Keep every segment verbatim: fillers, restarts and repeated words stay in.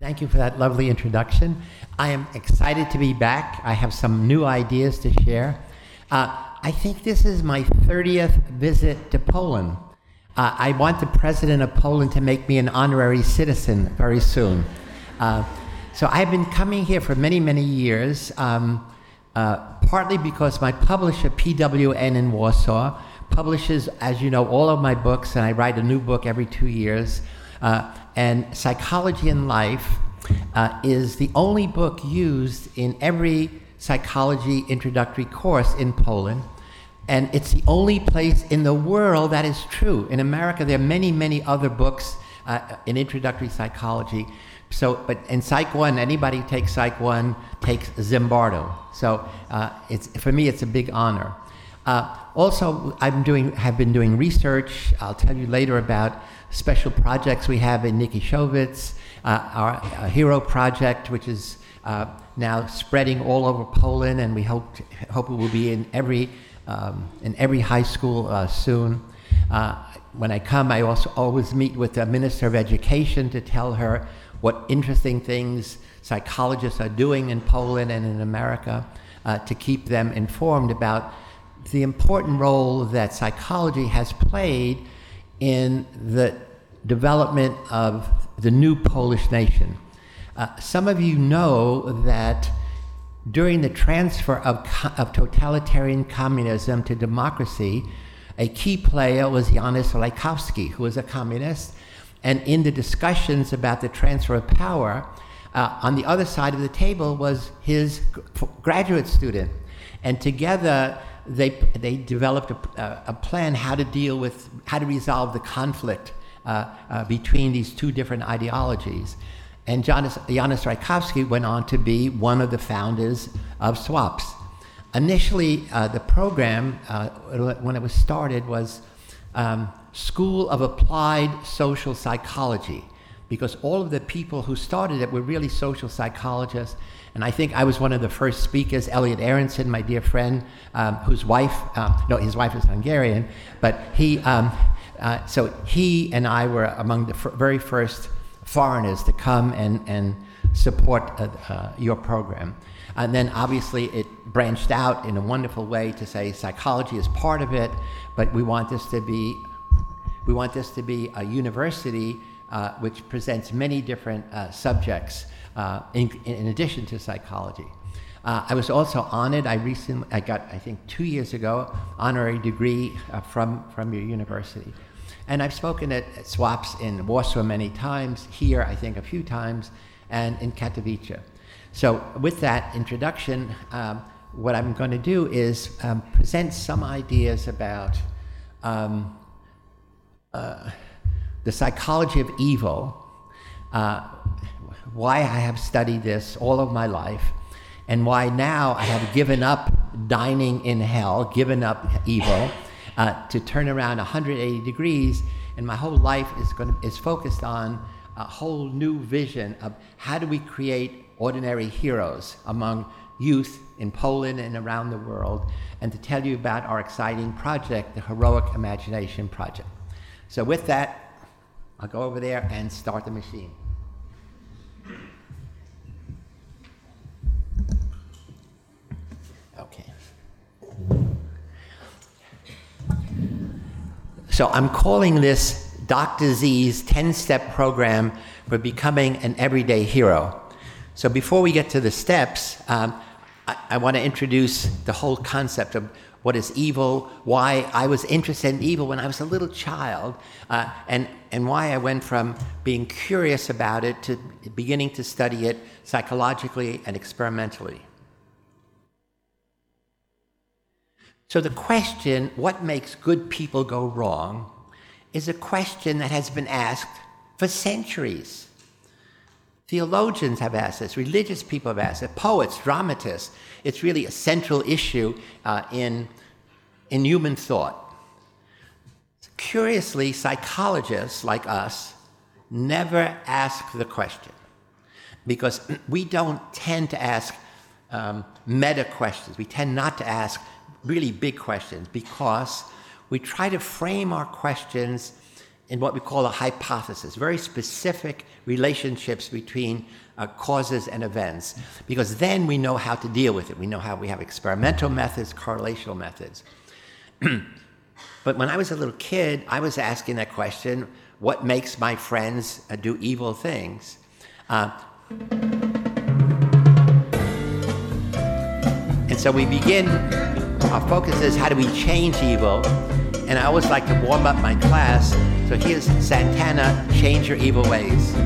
Thank you for that lovely introduction. I am excited to be back. I have some new ideas to share. Uh, I think this is my thirtieth visit to Poland. Uh, I want the president of Poland to make me an honorary citizen very soon. Uh, so I've been coming here for many, many years, um, uh, partly because my publisher, P W N in Warsaw, publishes, as you know, all of my books, and I write a new book every two years. Uh, and Psychology in Life uh, is the only book used in every psychology introductory course in Poland. And it's the only place in the world that is true. In America, there are many, many other books uh, in introductory psychology. So, but in Psych one, anybody who takes Psych one takes Zimbardo. So uh, it's, for me, it's a big honor. Uh, also, I'm doing, have been doing research. I'll tell you later about special projects we have in Nikiszowicz, uh, our, our HERO project, which is uh, now spreading all over Poland, and we hope hope it will be in every um, in every high school uh, soon. Uh, when I come, I also always meet with the Minister of Education to tell her what interesting things psychologists are doing in Poland and in America, uh, to keep them informed about the important role that psychology has played in the development of the new Polish nation. Uh, some of you know that during the transfer of, of totalitarian communism to democracy, a key player was Janusz Lajkowski, who was a communist. And in the discussions about the transfer of power, uh, on the other side of the table was his graduate student. And together, they they developed a, a plan how to deal with, how to resolve the conflict uh, uh, between these two different ideologies. And Janusz, Janusz Lajkowski went on to be one of the founders of SWAPS. Initially, uh, the program, uh, when it was started, was um, School of Applied Social Psychology, because all of the people who started it were really social psychologists. And I think I was one of the first speakers. Elliot Aronson, my dear friend, um, whose wife, uh, no, his wife is Hungarian, but he, um, uh, so he and I were among the f- very first foreigners to come and, and support uh, uh, your program. And then obviously it branched out in a wonderful way to say psychology is part of it, but we want this to be, we want this to be a university uh, which presents many different uh, subjects uh, in, in addition to psychology. Uh, I was also honored, I recently, I got, I think two years ago, honorary degree uh, from, from your university. And I've spoken at, at SWAPS in Warsaw many times, here I think a few times, and in Katowice. So with that introduction, um, what I'm going to do is um, present some ideas about um, uh, the psychology of evil, uh, why I have studied this all of my life, and why now I have given up dining in hell, given up evil, uh, to turn around one hundred eighty degrees, and my whole life is going to, is focused on a whole new vision of how do we create ordinary heroes among youth in Poland and around the world, and to tell you about our exciting project, the Heroic Imagination Project. So with that, I'll go over there and start the machine. Okay. So I'm calling this Doctor Z's ten-step program for becoming an everyday hero. So before we get to the steps, um, I, I want to introduce the whole concept of what is evil, why I was interested in evil when I was a little child, uh, and, and why I went from being curious about it to beginning to study it psychologically and experimentally. So the question, what makes good people go wrong, is a question that has been asked for centuries. Theologians have asked this, religious people have asked it, poets, dramatists. It's really a central issue uh, in, in human thought. Curiously, psychologists like us never ask the question, because we don't tend to ask um, meta questions. We tend not to ask really big questions, because we try to frame our questions in what we call a hypothesis, very specific relationships between uh, causes and events, because then we know how to deal with it. We know how we have experimental methods, correlational methods. But when I was a little kid, I was asking that question, what makes my friends uh, do evil things? Uh, and so we begin, our focus is how do we change evil? And I always like to warm up my class. So here's Santana, Change Your Evil Ways.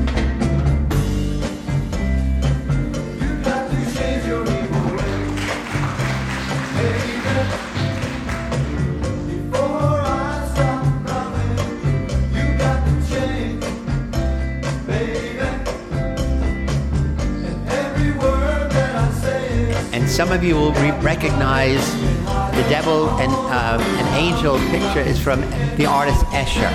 And some of you will re- recognize the devil and uh, an angel picture is from the artist Escher.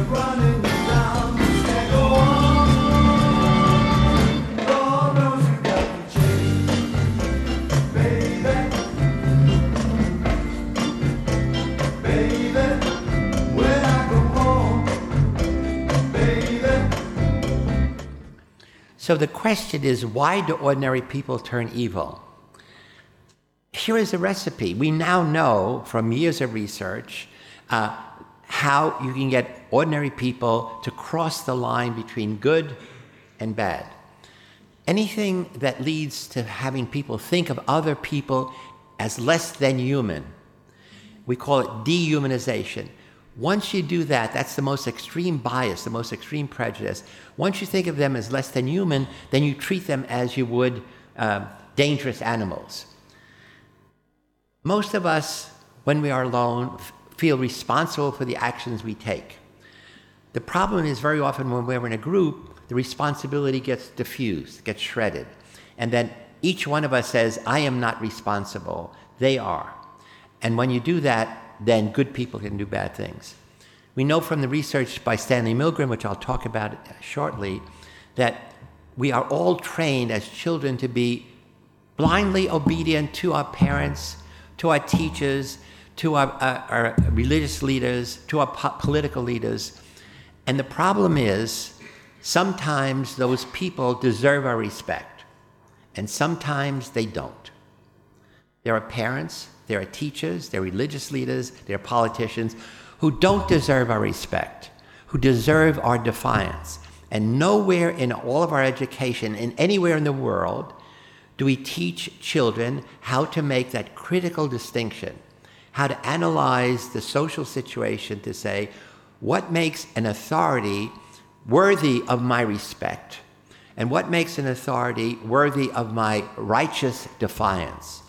So the question is, why do ordinary people turn evil? Here is a recipe. We now know from years of research uh, how you can get ordinary people to cross the line between good and bad. Anything that leads to having people think of other people as less than human, we call it dehumanization. Once you do that, that's the most extreme bias, the most extreme prejudice. Once you think of them as less than human, then you treat them as you would uh, dangerous animals. Most of us, when we are alone, f- feel responsible for the actions we take. The problem is very often when we're in a group, the responsibility gets diffused, gets shredded. And then each one of us says, I am not responsible, they are. And when you do that, then good people can do bad things. We know from the research by Stanley Milgram, which I'll talk about shortly, that we are all trained as children to be blindly obedient to our parents, to our teachers, to our, our, our religious leaders, to our po- political leaders. And the problem is, sometimes those people deserve our respect, and sometimes they don't. There are parents, there are teachers, there are religious leaders, there are politicians who don't deserve our respect, who deserve our defiance. And nowhere in all of our education, in anywhere in the world, do we teach children how to make that critical distinction, how to analyze the social situation to say, what makes an authority worthy of my respect, and what makes an authority worthy of my righteous defiance?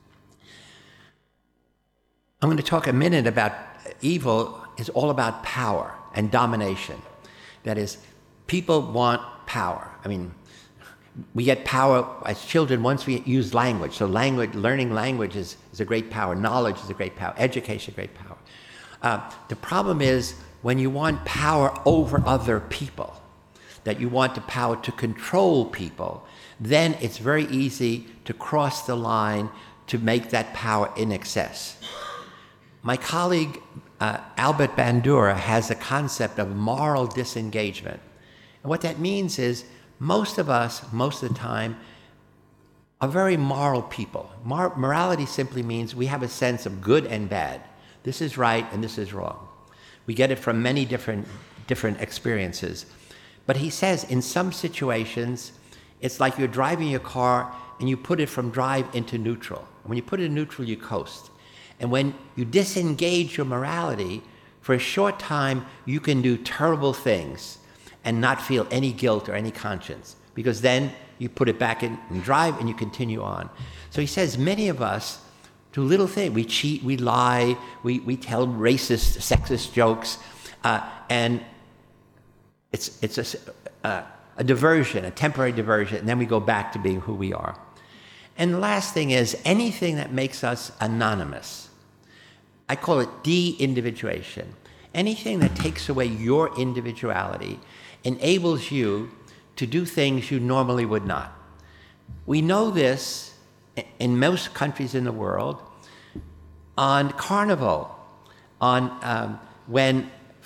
I'm going to talk a minute about evil is all about power and domination. That is, people want power. I mean, we get power as children once we use language. So language, learning language is, is a great power. Knowledge is a great power. Education is a great power. Uh, the problem is when you want power over other people, that you want the power to control people, then it's very easy to cross the line to make that power in excess. My colleague, uh, Albert Bandura, has a concept of moral disengagement. And what that means is most of us, most of the time, are very moral people. Mor- morality simply means we have a sense of good and bad. This is right and this is wrong. We get it from many different, different experiences. But he says in some situations, it's like you're driving your car and you put it from drive into neutral. When you put it in neutral, you coast. And when you disengage your morality, for a short time, you can do terrible things and not feel any guilt or any conscience, because then you put it back in and drive and you continue on. So he says many of us do little things. We cheat, we lie, we, we tell racist, sexist jokes, uh, and it's, it's a, a, a diversion, a temporary diversion, and then we go back to being who we are. And the last thing is anything that makes us anonymous. I call it de-individuation. Anything that takes away your individuality enables you to do things you normally would not. We know this in most countries in the world on Carnival, on um, when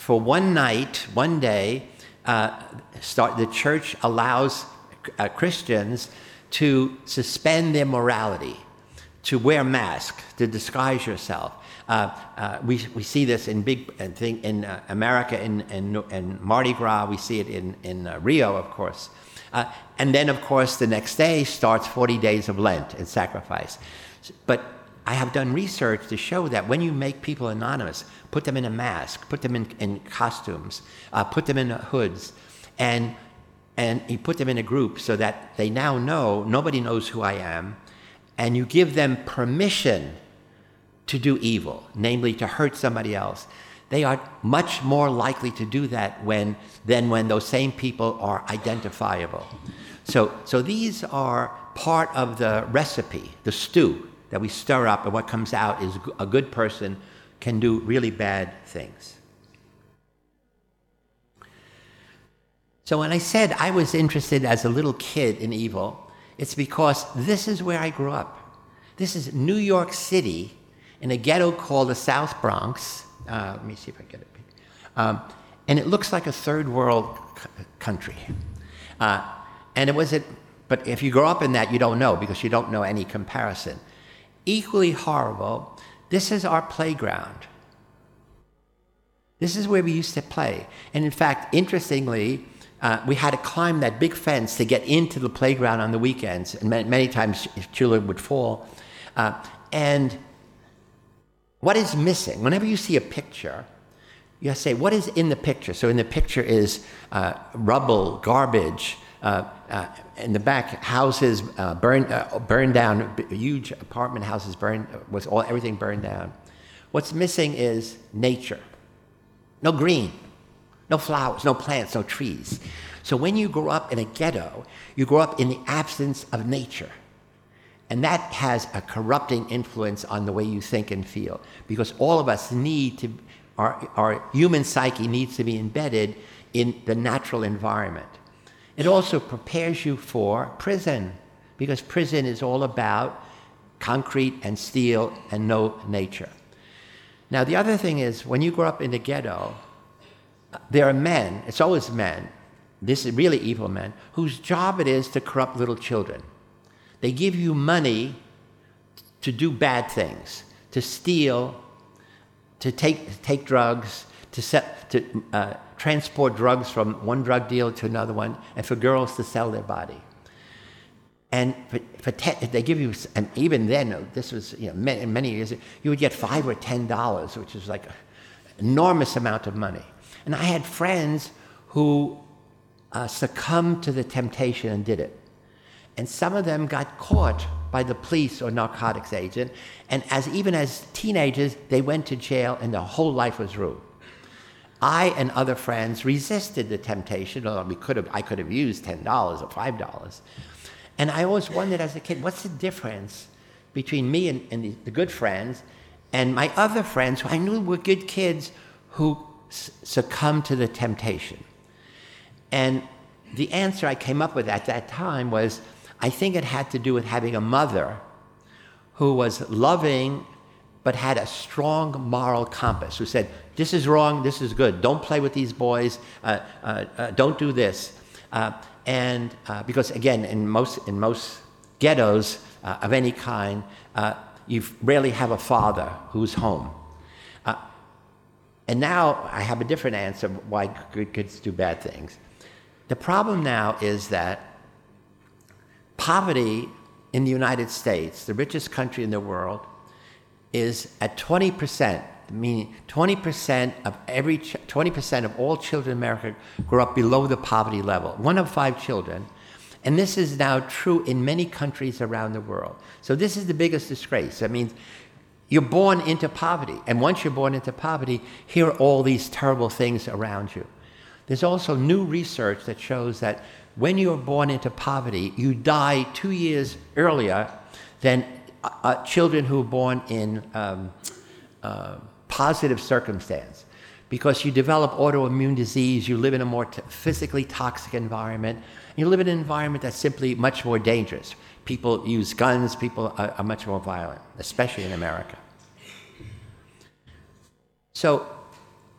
for one night, one day, uh, start, the church allows uh, Christians to suspend their morality, to wear masks, to disguise yourself. Uh, uh, we we see this in big uh, thing in uh, America, in, in in Mardi Gras. We see it in in uh, Rio, of course. Uh, and then, of course, the next day starts forty days of Lent and sacrifice. But I have done research to show that when you make people anonymous, put them in a mask, put them in, in costumes, uh, put them in hoods, and and you put them in a group so that they now know, nobody knows who I am, and you give them permission to do evil, namely to hurt somebody else. They are much more likely to do that when than when those same people are identifiable. So, so these are part of the recipe, the stew that we stir up, and what comes out is a good person can do really bad things. So when I said I was interested as a little kid in evil, it's because this is where I grew up. This is New York City in a ghetto called the South Bronx. Uh, let me see if I get it. Um, and it looks like a third world c- country. Uh, and it was it, but if you grow up in that, you don't know because you don't know any comparison. Equally horrible, this is our playground. This is where we used to play. And in fact, interestingly, uh, we had to climb that big fence to get into the playground on the weekends. And many, many times children would fall. Uh, and what is missing? Whenever you see a picture, you say, what is in the picture? So in the picture is uh, rubble, garbage, uh, uh, in the back, houses uh, burned, uh, burned down, huge apartment houses burned, was all everything burned down. What's missing is nature. No green, no flowers, no plants, no trees. So when you grow up in a ghetto, you grow up in the absence of nature. And that has a corrupting influence on the way you think and feel, because all of us need to, our, our human psyche needs to be embedded in the natural environment. It also prepares you for prison, because prison is all about concrete and steel and no nature. Now, the other thing is, when you grow up in the ghetto, there are men, it's always men, this is really evil men, whose job it is to corrupt little children. They give you money to do bad things, to steal, to take take drugs, to set, to uh, transport drugs from one drug dealer to another one, and for girls to sell their body. And for, for ten, they give you, and even then, this was you know many, many years, you would get five or ten dollars, which is like an enormous amount of money. And I had friends who uh, succumbed to the temptation and did it. And some of them got caught by the police or narcotics agent, and as even as teenagers, they went to jail and their whole life was ruined. I and other friends resisted the temptation, although we could have, I could have used ten dollars or five dollars. And I always wondered as a kid, what's the difference between me and, and the, the good friends and my other friends who I knew were good kids who s- succumbed to the temptation? And the answer I came up with at that time was, I think it had to do with having a mother who was loving but had a strong moral compass, who said, this is wrong, this is good, don't play with these boys, uh, uh, uh, don't do this. Uh, and uh, because again, in most, in most ghettos uh, of any kind, uh, you rarely have a father who's home. Uh, and now I have a different answer why good kids do bad things. The problem now is that poverty in the United States, the richest country in the world, is at twenty percent, meaning twenty percent of every ch- twenty percent of all children in America grow up below the poverty level. One of five children, and this is now true in many countries around the world. So this is the biggest disgrace. That means you're born into poverty, and once you're born into poverty, here are all these terrible things around you. There's also new research that shows that when you're born into poverty, you die two years earlier than uh, uh, children who are born in um, uh, positive circumstance, because you develop autoimmune disease, you live in a more t- physically toxic environment, and you live in an environment that's simply much more dangerous. People use guns, people are, are much more violent, especially in America. So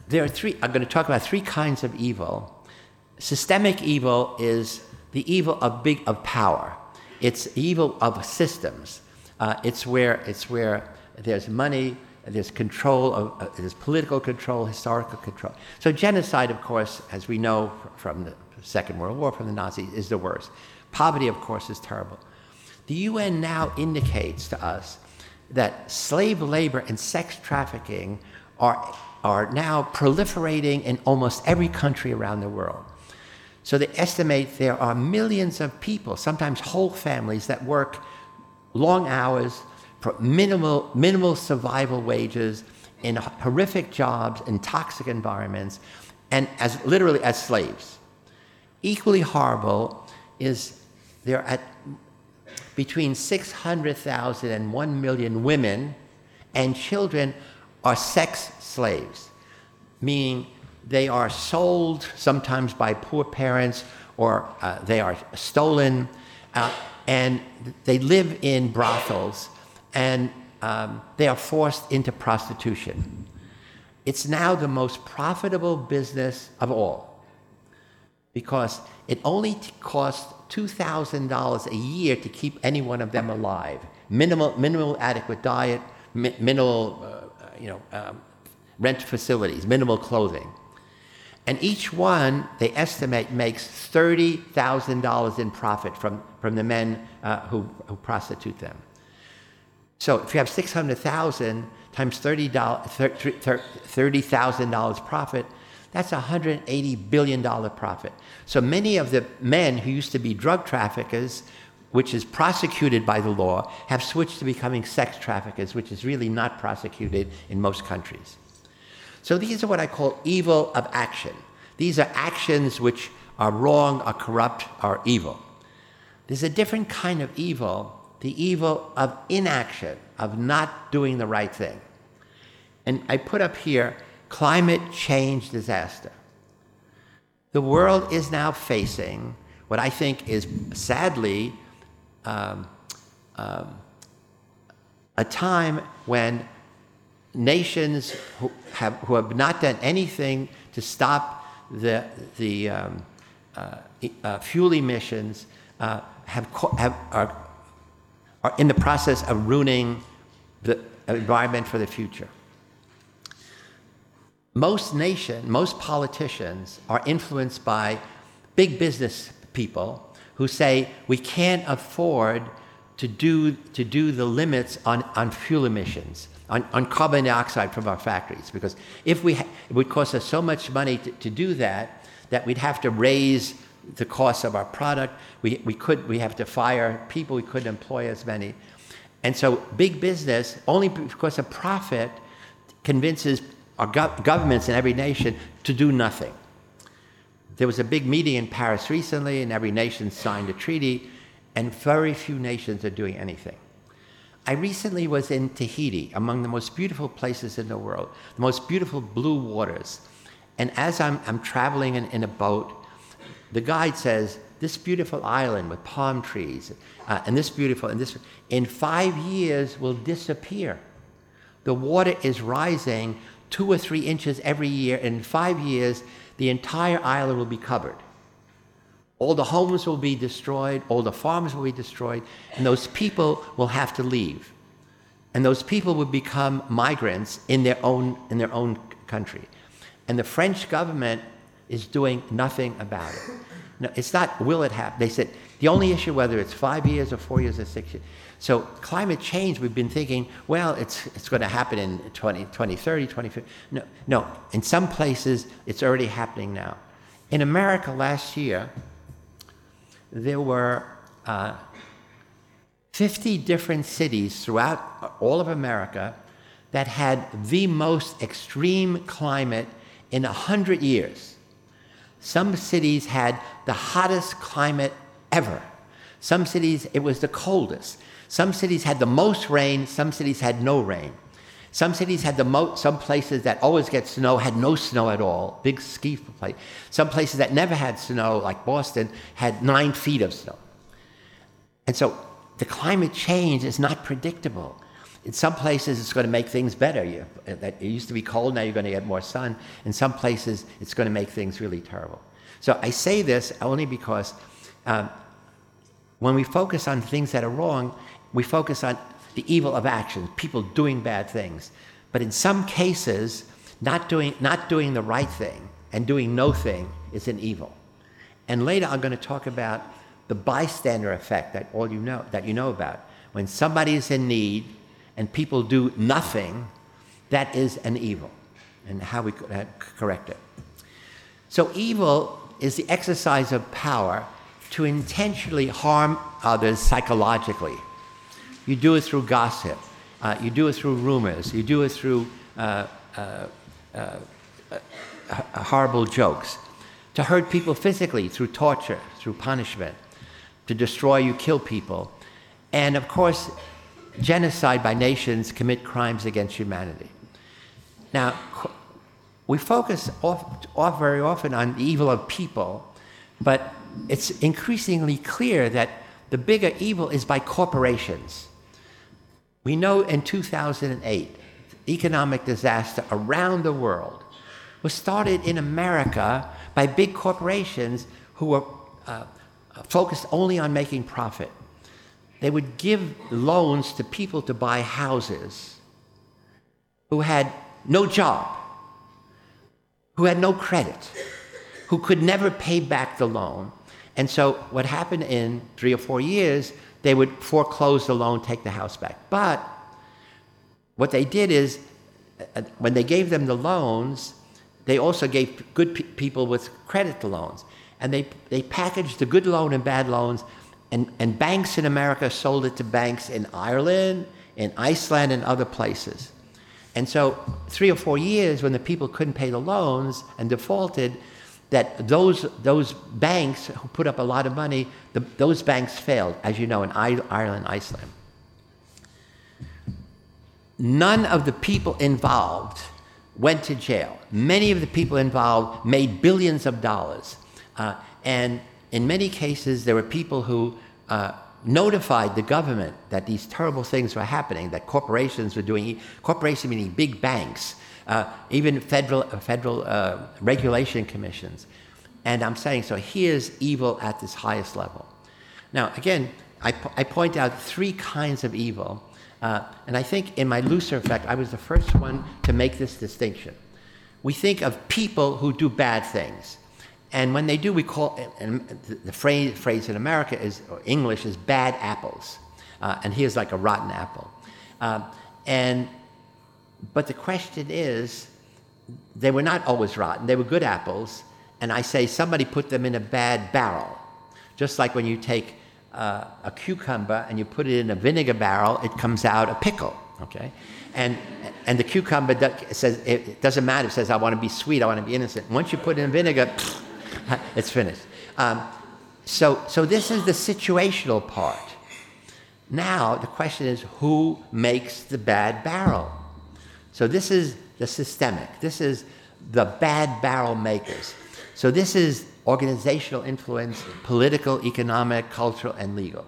there are three, I'm going to talk about three kinds of evil. Systemic evil is the evil of big, of power. It's evil of systems. Uh, it's where, it's where there's money, there's control, of, uh, there's political control, historical control. So genocide, of course, as we know from the Second World War, from the Nazis, is the worst. Poverty, of course, is terrible. The U N now indicates to us that slave labor and sex trafficking are, are now proliferating in almost every country around the world. So they estimate there are millions of people, sometimes whole families, that work long hours for minimal, minimal survival wages in horrific jobs, in toxic environments, and as literally as slaves. Equally horrible is there are between six hundred thousand and one million women and children are sex slaves, meaning they are sold sometimes by poor parents, or uh, they are stolen, uh, and they live in brothels, and um, they are forced into prostitution. It's now the most profitable business of all, because it only t- costs two thousand dollars a year to keep any one of them alive. Minimal, minimal adequate diet, mi- minimal, uh, you know, um, rent facilities, minimal clothing. And each one, they estimate, makes thirty thousand dollars in profit from, from the men uh, who, who prostitute them. So if you have six hundred thousand times thirty thousand dollars profit, that's a one hundred eighty billion dollars profit. So many of the men who used to be drug traffickers, which is prosecuted by the law, have switched to becoming sex traffickers, which is really not prosecuted in most countries. So these are what I call evil of action. These are actions which are wrong, are corrupt, are evil. There's a different kind of evil, the evil of inaction, of not doing the right thing. And I put up here climate change disaster. The world is now facing what I think is sadly um, um, a time when nations who have, who have not done anything to stop the, the um, uh, uh, fuel emissions uh, have, have, are, are in the process of ruining the environment for the future. Most nations, most politicians are influenced by big business people who say we can't afford to do, to do the limits on, on fuel emissions, on, on carbon dioxide from our factories, because if we ha- it would cost us so much money to, to do that, that we'd have to raise the cost of our product. We, we, could, we have to fire people, we couldn't employ as many. And so big business, only because of profit, convinces our go- governments in every nation to do nothing. There was a big meeting in Paris recently, and every nation signed a treaty, and very few nations are doing anything. I recently was in Tahiti, among the most beautiful places in the world, the most beautiful blue waters. And as I'm, I'm traveling in, in a boat, the guide says, this beautiful island with palm trees, uh, and this beautiful, and this, in five years will disappear. The water is rising two or three inches every year. In five years, the entire island will be covered. All the homes will be destroyed, all the farms will be destroyed, and those people will have to leave. And those people will become migrants in their own, in their own country. And the French government is doing nothing about it. No, it's not will it happen. They said the only issue, whether it's five years or four years or six years. So climate change, we've been thinking, well, it's it's going to happen in twenty, twenty thirty, twenty fifty. No, no. In some places, it's already happening now. In America last year, there were uh, fifty different cities throughout all of America that had the most extreme climate in a hundred years. Some cities had the hottest climate ever. Some cities, it was the coldest. Some cities had the most rain, some cities had no rain. Some cities had the most, some places that always get snow had no snow at all, big ski place. Some places that never had snow, like Boston, had nine feet of snow. And so the climate change is not predictable. in some places, it's going to make things better. You, that it used to be cold, now you're going to get more sun. In some places, it's going to make things really terrible. So I say this only because um, when we focus on things that are wrong, we focus on the evil of actions, people doing bad things. But in some cases, not doing, not doing the right thing and doing no thing is an evil. And later I'm going to talk about the bystander effect that all you know, that you know about. When somebody is in need and people do nothing, that is an evil, and how we could correct it. So evil is the exercise of power to intentionally harm others psychologically. You do it through gossip. Uh, you do it through rumors. You do it through uh, uh, uh, uh, horrible jokes. To hurt people physically through torture, through punishment. To destroy, you kill people. And of course, genocide by nations commit crimes against humanity. Now, we focus off, off very often on the evil of people, but it's increasingly clear that the bigger evil is by corporations. We know in two thousand eight, economic disaster around the world was started in America by big corporations who were uh, focused only on making profit. They would give loans to people to buy houses who had no job, who had no credit, who could never pay back the loan. And so what happened in three or four years, they would foreclose the loan, take the house back. But what they did is, uh, when they gave them the loans, they also gave good pe- people with credit the loans. And they, they packaged the good loan and bad loans, and, and banks in America sold it to banks in Ireland, in Iceland, and other places. And so three or four years when the people couldn't pay the loans and defaulted, that those those banks who put up a lot of money, the, those banks failed, as you know, in I, Ireland, Iceland. None of the people involved went to jail. Many of the people involved made billions of dollars. Uh, and in many cases, there were people who uh, notified the government that these terrible things were happening, that corporations were doing, corporations meaning big banks, uh, even federal, uh, federal uh, regulation commissions. And I'm saying, so here's evil at this highest level. Now, again, I, po- I point out three kinds of evil. Uh, and I think in my Lucifer Effect, I was the first one to make this distinction. We think of people who do bad things. And when they do, we call, and the phrase, phrase in America is, or English is bad apples. Uh, and here's like a rotten apple. Uh, and, but the question is, they were not always rotten, they were good apples. And I say somebody put them in a bad barrel. Just like when you take uh, a cucumber and you put it in a vinegar barrel, it comes out a pickle, okay? And, and the cucumber do, says, it doesn't matter, it says, I want to be sweet, I want to be innocent. Once you put it in vinegar, it's finished. Um, so, so this is the situational part. Now, the question is, who makes the bad barrel? So this is the systemic. This is the bad barrel makers. So this is organizational influence, political, economic, cultural, and legal.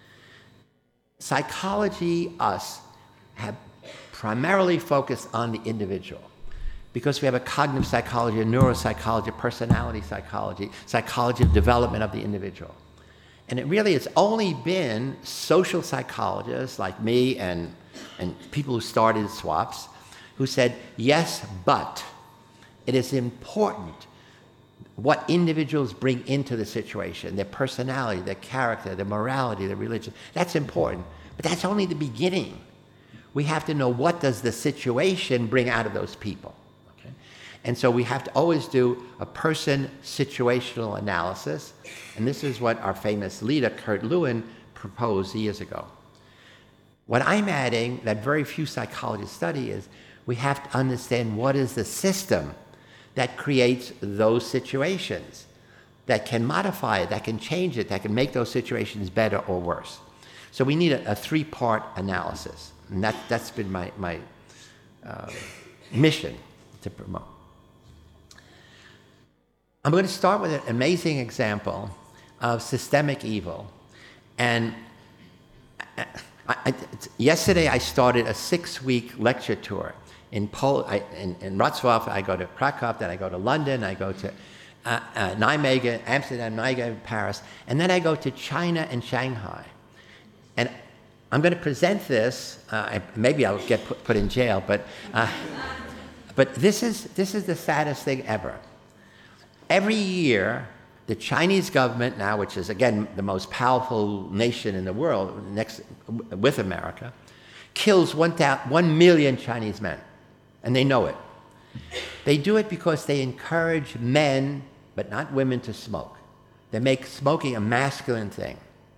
Psychology, us, have primarily focused on the individual, because we have a cognitive psychology, a neuropsychology, personality psychology, psychology of development of the individual. And it really has only been social psychologists like me and, and people who started SWAPS who said, yes, but it is important what individuals bring into the situation, their personality, their character, their morality, their religion. That's important, but that's only the beginning. We have to know, what does the situation bring out of those people? Okay? And so we have to always do a person situational analysis, and this is what our famous leader, Kurt Lewin, proposed years ago. What I'm adding that very few psychologists study is we have to understand what is the system that creates those situations, that can modify it, that can change it, that can make those situations better or worse. So we need a, a three-part analysis, and that, that's been my, my uh, mission to promote. I'm going to start with an amazing example of systemic evil. And I, I, yesterday I started a six-week lecture tour. In, Pol- I, in, in Wrocław, I go to Krakow, then I go to London, I go to uh, uh, Nijmegen, Amsterdam, Nijmegen, Paris, and then I go to China and Shanghai. And I'm going to present this, uh, I, maybe I'll get put, put in jail, but, uh, but this is, this is the saddest thing ever. Every year, the Chinese government now, which is, again, the most powerful nation in the world, next with America, kills one, one million Chinese men, and they know it. They do it because they encourage men, but not women, to smoke. They make smoking a masculine thing.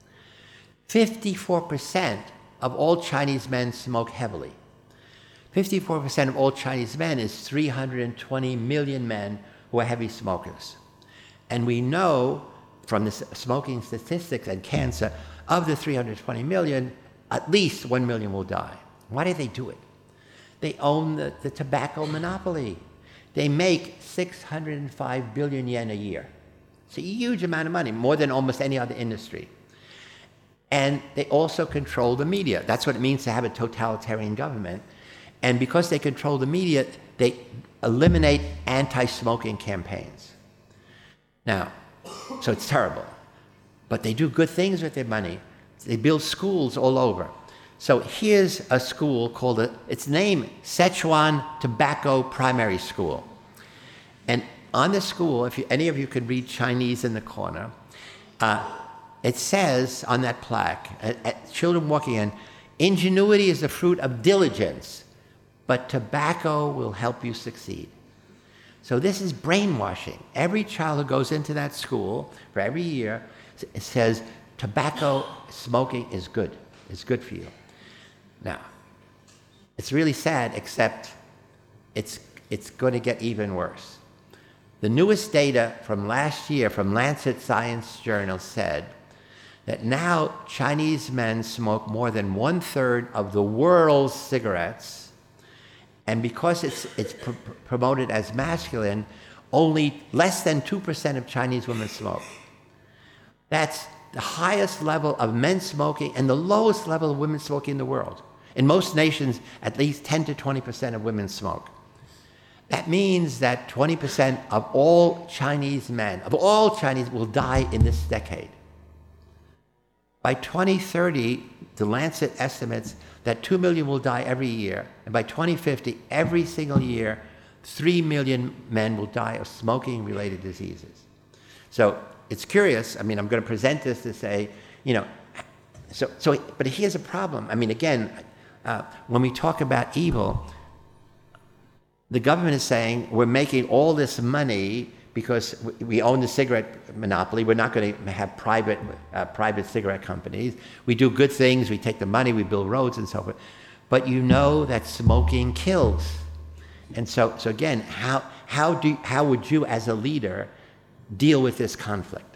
fifty-four percent of all Chinese men smoke heavily. fifty-four percent of all Chinese men is three hundred twenty million men who are heavy smokers. And we know from the smoking statistics and cancer, of the three hundred twenty million, at least one million will die. Why do they do it? They own the, the tobacco monopoly. They make six hundred five billion yen a year. It's a huge amount of money, more than almost any other industry. And they also control the media. That's what it means to have a totalitarian government. And because they control the media, they eliminate anti-smoking campaigns. Now, so it's terrible. But they do good things with their money. They build schools all over. So here's a school called, a, its name, Sichuan Tobacco Primary School. And on the school, if you, any of you could read Chinese in the corner, uh, it says on that plaque, at, at children walking in, ingenuity is the fruit of diligence, but tobacco will help you succeed. So this is brainwashing. Every child who goes into that school for every year, it says tobacco smoking is good. It's good for you. Now, it's really sad, except it's, it's going to get even worse. The newest data from last year from Lancet Science Journal said that now Chinese men smoke more than one-third of the world's cigarettes, and because it's, it's pr- promoted as masculine, only less than two percent of Chinese women smoke. That's the highest level of men smoking and the lowest level of women smoking in the world. In most nations, at least ten to twenty percent of women smoke. That means that twenty percent of all Chinese men, of all Chinese, will die in this decade. By twenty thirty, the Lancet estimates that two million will die every year, and by twenty fifty, every single year, three million men will die of smoking-related diseases. So it's curious. I mean, I'm going to present this to say, you know, so, so but here's a problem. I mean, again, uh, when we talk about evil, the government is saying we're making all this money because we own the cigarette monopoly. We're not going to have private uh, private cigarette companies. We do good things. We take the money. We build roads and so forth. But you know that smoking kills. And so, so again, how how do how would you, as a leader, deal with this conflict?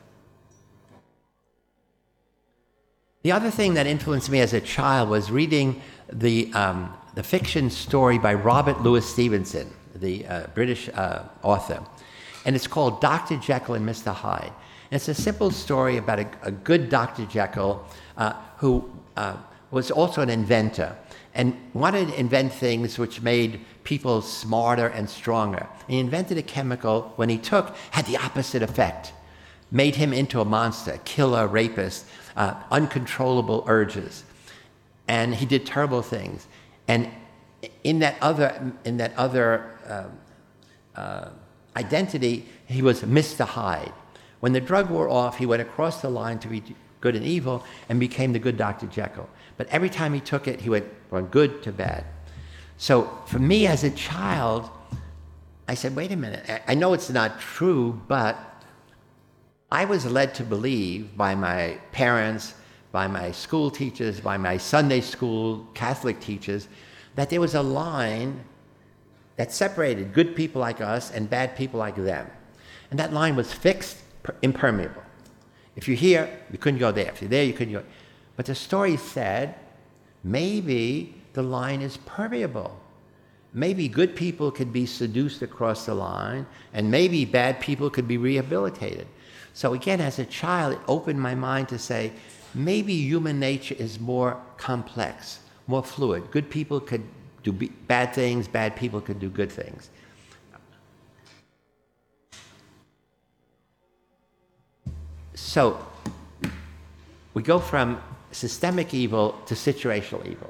The other thing that influenced me as a child was reading the um, the fiction story by Robert Louis Stevenson, the uh, British uh, author. And it's called Doctor Jekyll and Mister Hyde. And it's a simple story about a, a good Doctor Jekyll uh, who uh, was also an inventor and wanted to invent things which made people smarter and stronger. And he invented a chemical, when he took, had the opposite effect. Made him into a monster, killer, rapist, uh, uncontrollable urges. And he did terrible things. And in that other, in that other uh, uh, identity, he was Mister Hyde. When the drug wore off, he went across the line to be good and evil and became the good Doctor Jekyll. But every time he took it, he went from good to bad. So for me as a child, I said, wait a minute, I know it's not true, but I was led to believe by my parents, by my school teachers, by my Sunday school Catholic teachers, that there was a line that separated good people like us and bad people like them. And that line was fixed, impermeable. If you're here, you couldn't go there. If you're there, you couldn't go. But the story said, maybe the line is permeable. Maybe good people could be seduced across the line, and maybe bad people could be rehabilitated. So again, as a child, it opened my mind to say, maybe human nature is more complex, more fluid. Good people could do bad things, bad people could do good things. So we go from systemic evil to situational evil.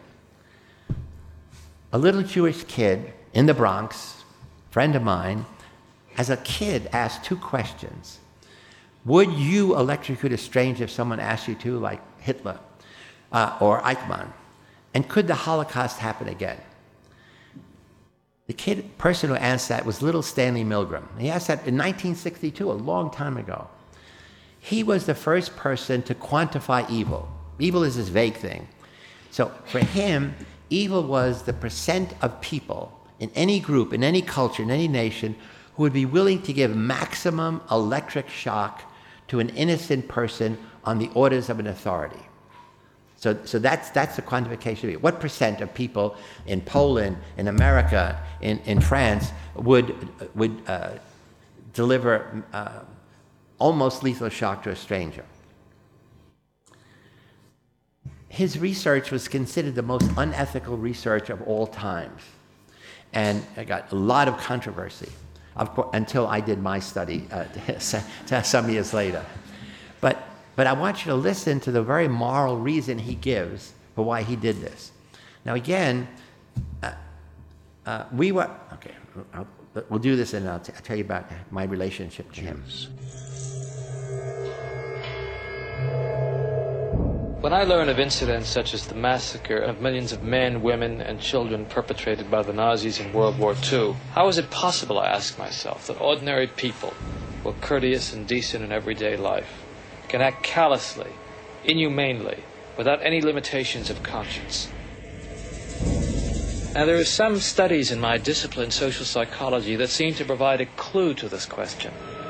A little Jewish kid in the Bronx, friend of mine, as a kid asked two questions. Would you electrocute a stranger if someone asked you to, like Hitler uh, or Eichmann? And could the Holocaust happen again? The kid, person who asked that was little Stanley Milgram. He asked that in nineteen sixty-two, a long time ago. He was the first person to quantify evil. Evil is this vague thing. So for him, evil was the percent of people in any group, in any culture, in any nation, who would be willing to give maximum electric shock to an innocent person on the orders of an authority. So, so that's, that's the quantification of it. What percent of people in Poland, in America, in, in France would, would uh, deliver uh, almost lethal shock to a stranger? His research was considered the most unethical research of all times. And it got a lot of controversy, of course, until I did my study uh, some years later. But, but I want you to listen to the very moral reason he gives for why he did this. Now again, uh, uh, we were, okay, I'll, we'll do this and I'll, t- I'll tell you about my relationship to him. When I learn of incidents such as the massacre of millions of men, women, and children perpetrated by the Nazis in World War Two, how is it possible, I ask myself, that ordinary people, who are courteous and decent in everyday life, can act callously, inhumanely, without any limitations of conscience? Now, there are some studies in my discipline, social psychology, that seem to provide a clue to this question.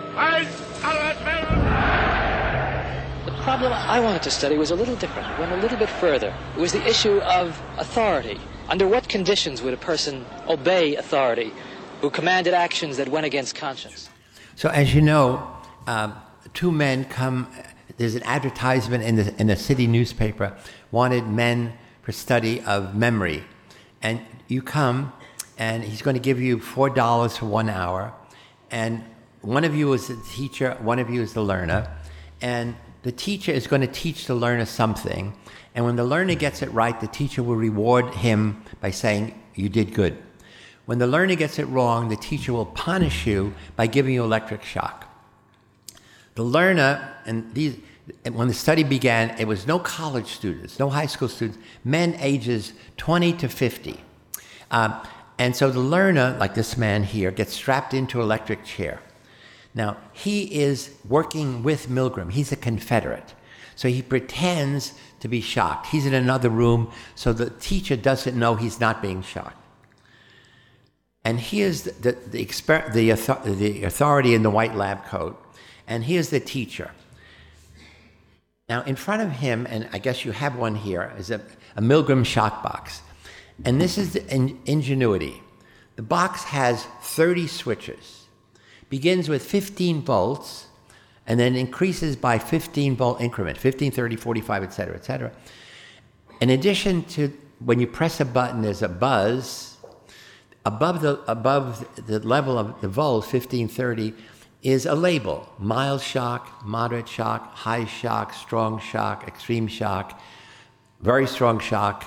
The problem I wanted to study was a little different. It went a little bit further. It was the issue of authority. Under what conditions would a person obey authority who commanded actions that went against conscience? So as you know, um, two men come, there's an advertisement in the, in the city newspaper, wanted men for study of memory. And you come, and he's going to give you four dollars for one hour. And one of you is the teacher, one of you is the learner. And the teacher is going to teach the learner something, and when the learner gets it right, the teacher will reward him by saying, you did good. When the learner gets it wrong, the teacher will punish you by giving you electric shock. The learner, and these, when the study began, it was no college students, no high school students, men ages twenty to fifty. Um, and so the learner, like this man here, gets strapped into an electric chair. Now, he is working with Milgram. He's a Confederate. So he pretends to be shocked. He's in another room, so the teacher doesn't know he's not being shocked. And here's the, the, the, exper- the, author- the authority in the white lab coat, and here's the teacher. Now, in front of him, and I guess you have one here, is a, a Milgram shock box. And this is the in- ingenuity. The box has thirty switches. Begins with fifteen volts, and then increases by fifteen volt increment, fifteen, thirty, forty-five, et cetera, et cetera. In addition to, when you press a button, there's a buzz. Above the, above the level of the volts, fifteen, thirty, is a label. Mild shock, moderate shock, high shock, strong shock, extreme shock, very strong shock,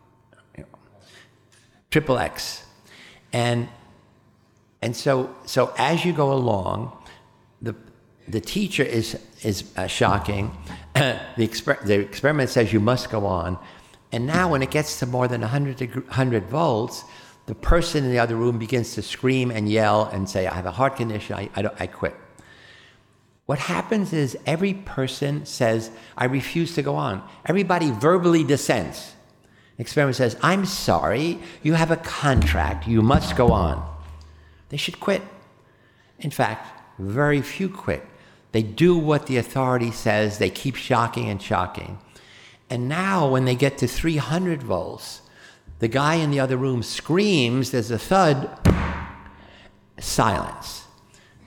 triple X. And And so, so as you go along, the the teacher is is uh, shocking. the, exper- the experiment says you must go on, and now when it gets to more than one hundred, deg- one hundred volts, the person in the other room begins to scream and yell and say, "I have a heart condition. I I, don't, I quit." What happens is every person says, "I refuse to go on." Everybody verbally dissents. The experiment says, "I'm sorry. You have a contract. You must go on." They should quit. In fact, very few quit. They do what the authority says. They keep shocking and shocking. And now when they get to three hundred volts, the guy in the other room screams, there's a thud, silence.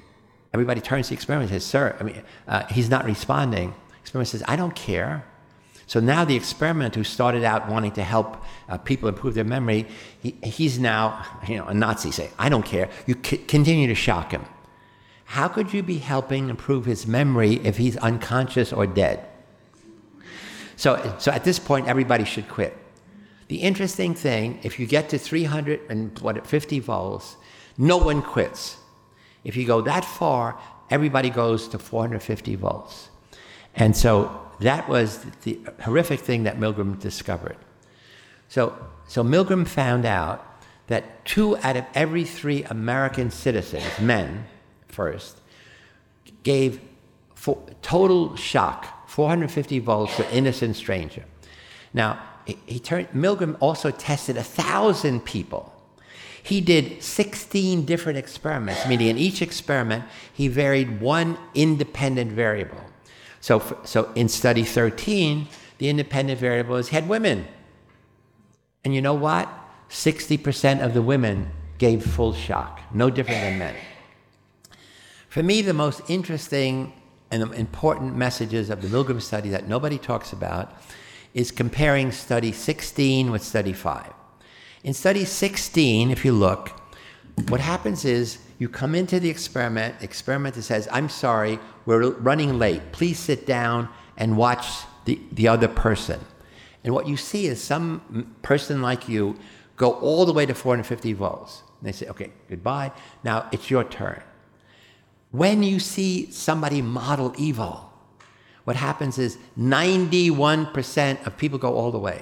Everybody turns to the experiment and says, sir, I mean, uh, he's not responding. The experiment says, I don't care. So now the experimenter who started out wanting to help uh, people improve their memory, he, he's now, you know, a Nazi saying, I don't care. You c- continue to shock him. How could you be helping improve his memory if he's unconscious or dead? So, so at this point, everybody should quit. The interesting thing, if you get to three hundred fifty volts, no one quits. If you go that far, everybody goes to four hundred fifty volts. And so that was the horrific thing that Milgram discovered. So, so Milgram found out that two out of every three American citizens, men first, gave for, total shock, four hundred fifty volts to an innocent stranger. Now, he, he turned, Milgram also tested a thousand people. He did sixteen different experiments, meaning in each experiment, he varied one independent variable. So, for, so in study thirteen, the independent variable is had women. And you know what? sixty percent of the women gave full shock, no different than men. For me, the most interesting and important messages of the Milgram study that nobody talks about is comparing study sixteen with study five. In study sixteen, if you look, what happens is you come into the experiment, the experimenter says, I'm sorry, we're running late. Please sit down and watch the, the other person. And what you see is some person like you go all the way to four hundred fifty volts. And they say, okay, goodbye. Now it's your turn. When you see somebody model evil, what happens is ninety-one percent of people go all the way.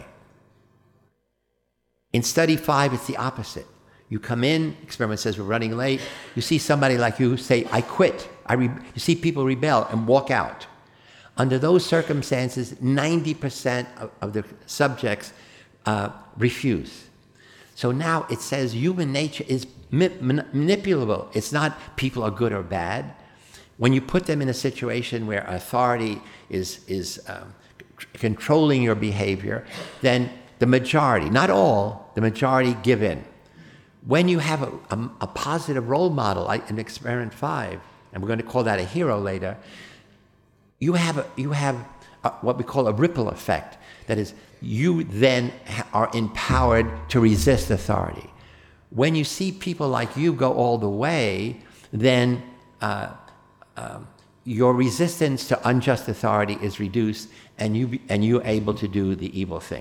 In study five, it's the opposite. You come in, experiment says we're running late. You see somebody like you say, I quit. I re-. You see people rebel and walk out. Under those circumstances, ninety percent of, of the subjects uh, refuse. So now it says human nature is ma- manipulable. It's not people are good or bad. When you put them in a situation where authority is, is um, c- controlling your behavior, then the majority, not all, the majority give in. When you have a, a, a positive role model, like in experiment five, and we're going to call that a hero later, you have, a, you have a, what we call a ripple effect. That is, you then ha- are empowered to resist authority. When you see people like you go all the way, then uh, um, your resistance to unjust authority is reduced, and you be, and you're able to do the evil thing.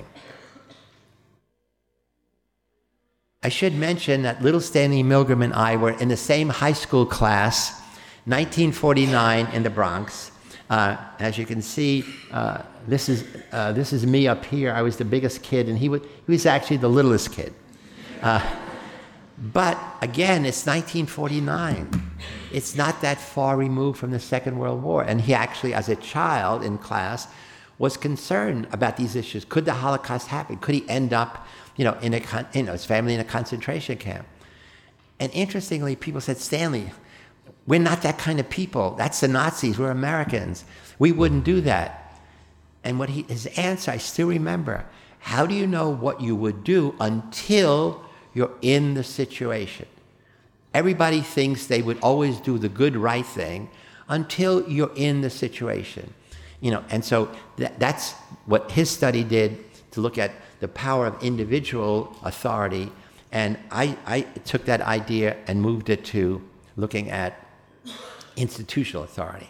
I should mention that little Stanley Milgram and I were in the same high school class, nineteen forty-nine in the Bronx. Uh, as you can see, uh, this is uh, this is me up here. I was the biggest kid, and he, would, he was actually the littlest kid. Uh, but again, it's nineteen forty-nine. It's not that far removed from the Second World War. And he actually, as a child in class, was concerned about these issues. Could the Holocaust happen? Could he end up, you know, in a con- you know, his family in a concentration camp? And interestingly, people said, Stanley, we're not that kind of people. That's the Nazis. We're Americans. We wouldn't do that. And what he, his answer, I still remember, how do you know what you would do until you're in the situation? Everybody thinks they would always do the good, right thing until you're in the situation. You know, and so that, that's what his study did, to look at the power of individual authority. And I, I took that idea and moved it to looking at institutional authority.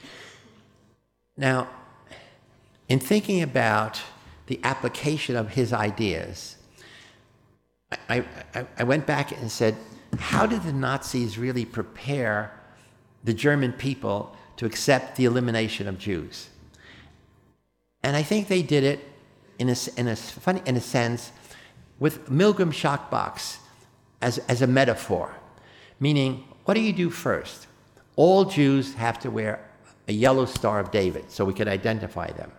Now, in thinking about the application of his ideas, I, I, I went back and said, how did the Nazis really prepare the German people to accept the elimination of Jews? And I think they did it in a, in a, funny, in a sense with Milgram shock box as, as a metaphor, meaning, what do you do first? All Jews have to wear a yellow Star of David so we can identify them.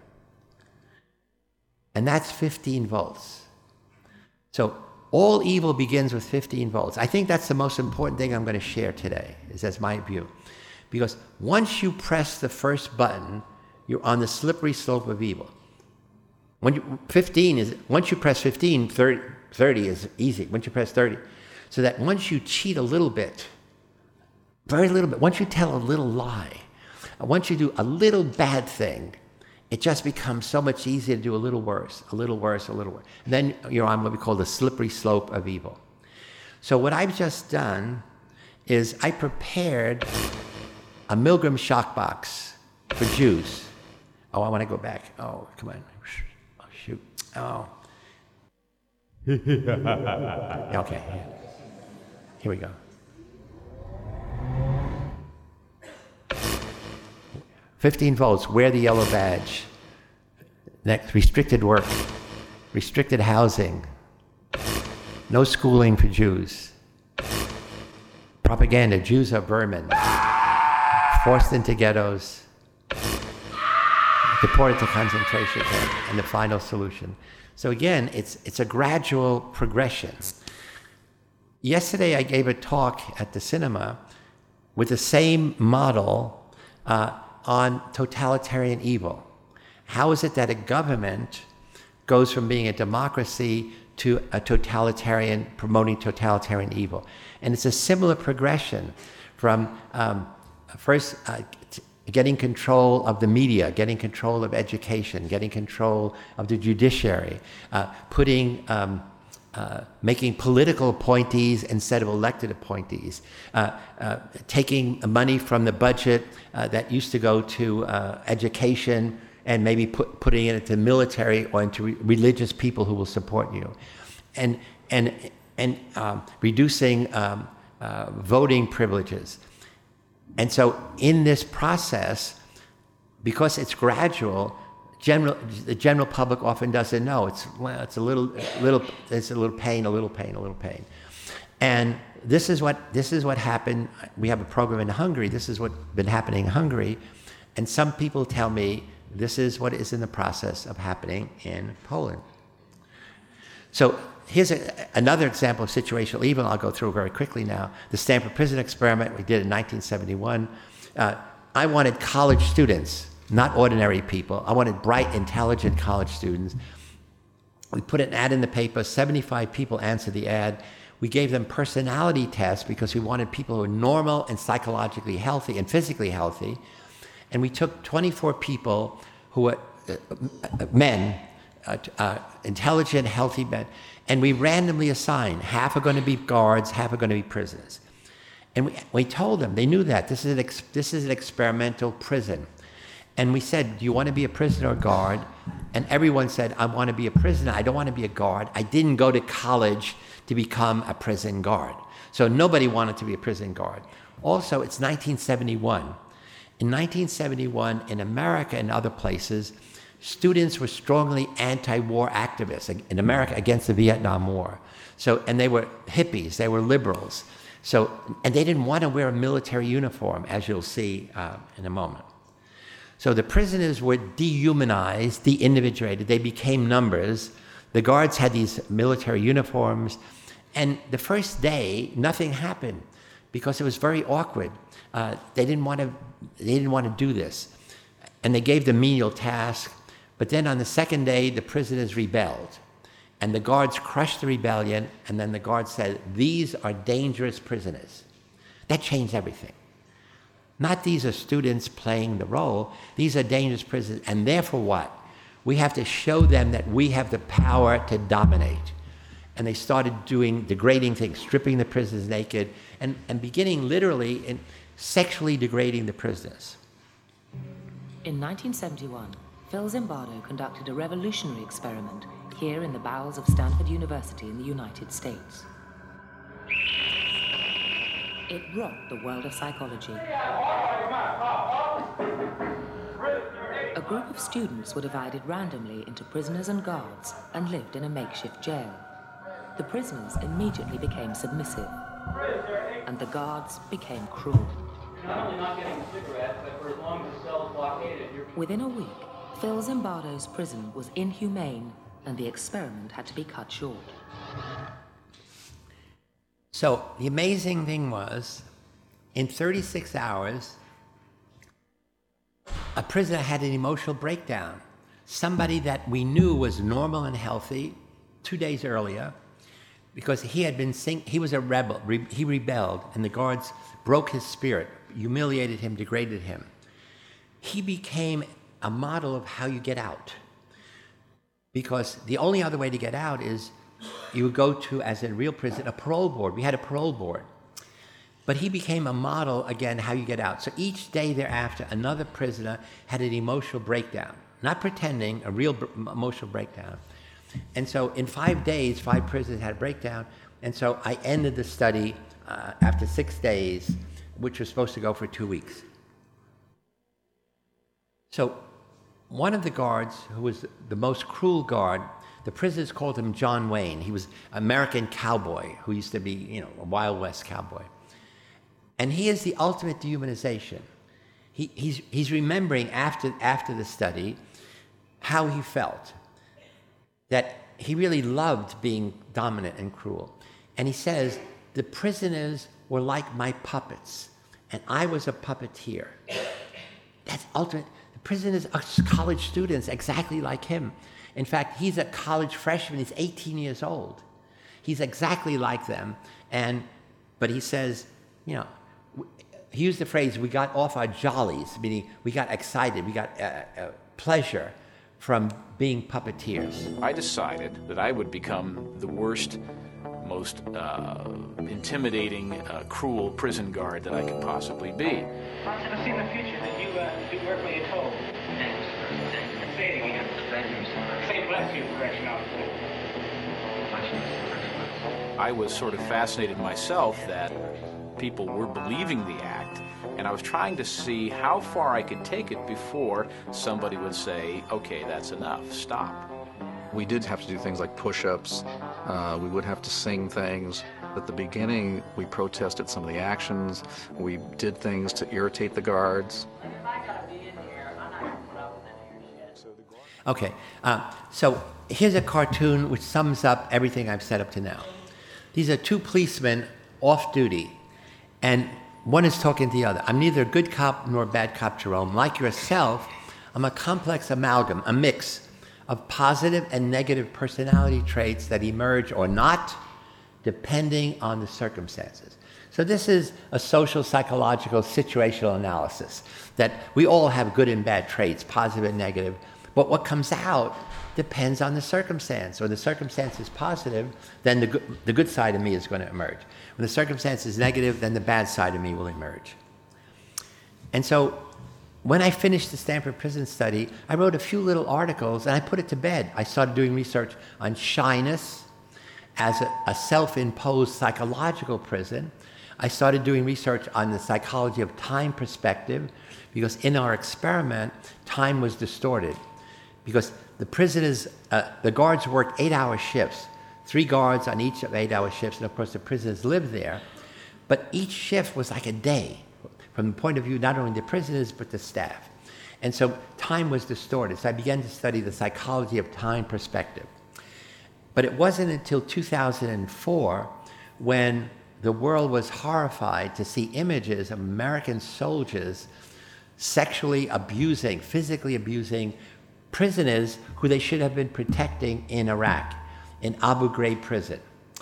And that's fifteen volts. So all evil begins with fifteen volts. I think that's the most important thing I'm going to share today, is that's my view. Because once you press the first button, you're on the slippery slope of evil. When you, fifteen is, once you press fifteen, thirty, thirty is easy. Once you press thirty. So that once you cheat a little bit, very little bit, once you tell a little lie, once you do a little bad thing, it just becomes so much easier to do a little worse, a little worse, a little worse. And then you're on what we call the slippery slope of evil. So what I've just done is I prepared a Milgram shock box for Jews. Oh, I want to go back. Oh, come on. Oh, shoot. Oh. Okay. Here we go. fifteen volts, wear the yellow badge. Next, restricted work, restricted housing, no schooling for Jews. Propaganda, Jews are vermin. Forced into ghettos, deported to concentration camps, and the final solution. So again, it's, it's a gradual progression. Yesterday I gave a talk at the cinema with the same model uh, on totalitarian evil. How is it that a government goes from being a democracy to a totalitarian, promoting totalitarian evil? And it's a similar progression from um, first uh, t- getting control of the media, getting control of education, getting control of the judiciary, uh, putting, um, uh, making political appointees instead of elected appointees, uh, uh, taking money from the budget uh, that used to go to uh, education and maybe put, putting it into military or into re- religious people who will support you, and and and um, reducing um, uh, voting privileges. And so in this process, because it's gradual, general, the general public often doesn't know. It's, well, it's a little, little, it's a little pain, a little pain, a little pain. And this is what, this is what happened. We have a program in Hungary. This is what's been happening in Hungary. And some people tell me this is what is in the process of happening in Poland. So here's a, another example of situational evil. I'll go through very quickly now. The Stanford Prison Experiment we did in nineteen seventy-one. Uh, I wanted college students, not ordinary people. I wanted bright, intelligent college students. We put an ad in the paper. seventy-five people answered the ad. We gave them personality tests because we wanted people who were normal and psychologically healthy and physically healthy. And we took twenty-four people who were uh, men, uh, uh, intelligent, healthy men, and we randomly assigned. Half are going to be guards, half are going to be prisoners. And we, we told them, they knew that, this is, an ex, this is an experimental prison. And we said, do you want to be a prisoner or guard? And everyone said, I want to be a prisoner, I don't want to be a guard. I didn't go to college to become a prison guard. So nobody wanted to be a prison guard. Also, it's nineteen seventy-one. In nineteen seventy-one, in America and other places, students were strongly anti-war activists in America against the Vietnam War. So, and they were hippies, they were liberals. So, and they didn't want to wear a military uniform, as you'll see uh, in a moment. So the prisoners were dehumanized, de-individuated, they became numbers. The guards had these military uniforms, and the first day, nothing happened because it was very awkward. Uh, they didn't want to, they didn't want to do this. And they gave them menial tasks. But then on the second day, the prisoners rebelled. And the guards crushed the rebellion, and then the guards said, these are dangerous prisoners. That changed everything. Not these are students playing the role, these are dangerous prisoners, and therefore what? We have to show them that we have the power to dominate. And they started doing degrading things, stripping the prisoners naked, and, and beginning literally in sexually degrading the prisoners. In nineteen seventy-one, Phil Zimbardo conducted a revolutionary experiment here in the bowels of Stanford University in the United States. It rocked the world of psychology. A group of students were divided randomly into prisoners and guards and lived in a makeshift jail. The prisoners immediately became submissive, and the guards became cruel. Not only not getting a cigarette, but for as long as the cell is blockaded, you're... Within a week, Phil Zimbardo's prison was inhumane, and the experiment had to be cut short. So the amazing thing was, in thirty-six hours, a prisoner had an emotional breakdown. Somebody that we knew was normal and healthy two days earlier, because he had been sing- he was a rebel, Re- he rebelled, and the guards broke his spirit, humiliated him, degraded him. He became a model of how you get out. Because the only other way to get out is you would go to, as in a real prison, a parole board. We had a parole board. But he became a model, again, how you get out. So each day thereafter, another prisoner had an emotional breakdown. Not pretending, a real b- emotional breakdown. And so in five days, five prisoners had a breakdown. And so I ended the study uh, after six days, which was supposed to go for two weeks. So one of the guards, who was the most cruel guard, the prisoners called him John Wayne. He was an American cowboy who used to be, you know, a Wild West cowboy. And he is the ultimate dehumanization. He, he's, he's remembering after, after the study how he felt, that he really loved being dominant and cruel. And he says, the prisoners were like my puppets, and I was a puppeteer. That's ultimate. The prisoners are college students exactly like him. In fact, he's a college freshman. He's eighteen years old. He's exactly like them. And, but he says, you know, he used the phrase, we got off our jollies, meaning we got excited, we got uh, uh, pleasure from being puppeteers. I decided that I would become the worst, most uh, intimidating, uh, cruel prison guard that I could possibly be. I see in the future that you uh, do work when you're told. Thanks. Thanks. Say it again. Thank you, sir. Say bless you, correctional officer. I was sort of fascinated myself that people were believing the act, and I was trying to see how far I could take it before somebody would say, okay, that's enough, stop. We did have to do things like push-ups, uh, we would have to sing things. At the beginning, we protested some of the actions, we did things to irritate the guards. Okay, uh, so here's a cartoon which sums up everything I've said up to now. These are two policemen off duty, and one is talking to the other. I'm neither a good cop nor a bad cop, Jerome. Like yourself, I'm a complex amalgam, a mix of positive and negative personality traits that emerge or not, depending on the circumstances. So this is a social, psychological, situational analysis, that we all have good and bad traits, positive and negative, but what comes out depends on the circumstance. When the circumstance is positive, then the good, the good side of me is going to emerge. When the circumstance is negative, then the bad side of me will emerge. And so when I finished the Stanford Prison Study, I wrote a few little articles and I put it to bed. I started doing research on shyness as a, a self-imposed psychological prison. I started doing research on the psychology of time perspective, because in our experiment, time was distorted. Because the prisoners, uh, the guards worked eight-hour shifts, three guards on each of eight-hour shifts, and of course the prisoners lived there. But each shift was like a day, from the point of view not only the prisoners, but the staff. And so time was distorted. So I began to study the psychology of time perspective. But it wasn't until two thousand four when the world was horrified to see images of American soldiers sexually abusing, physically abusing prisoners who they should have been protecting in Iraq, in Abu Ghraib prison.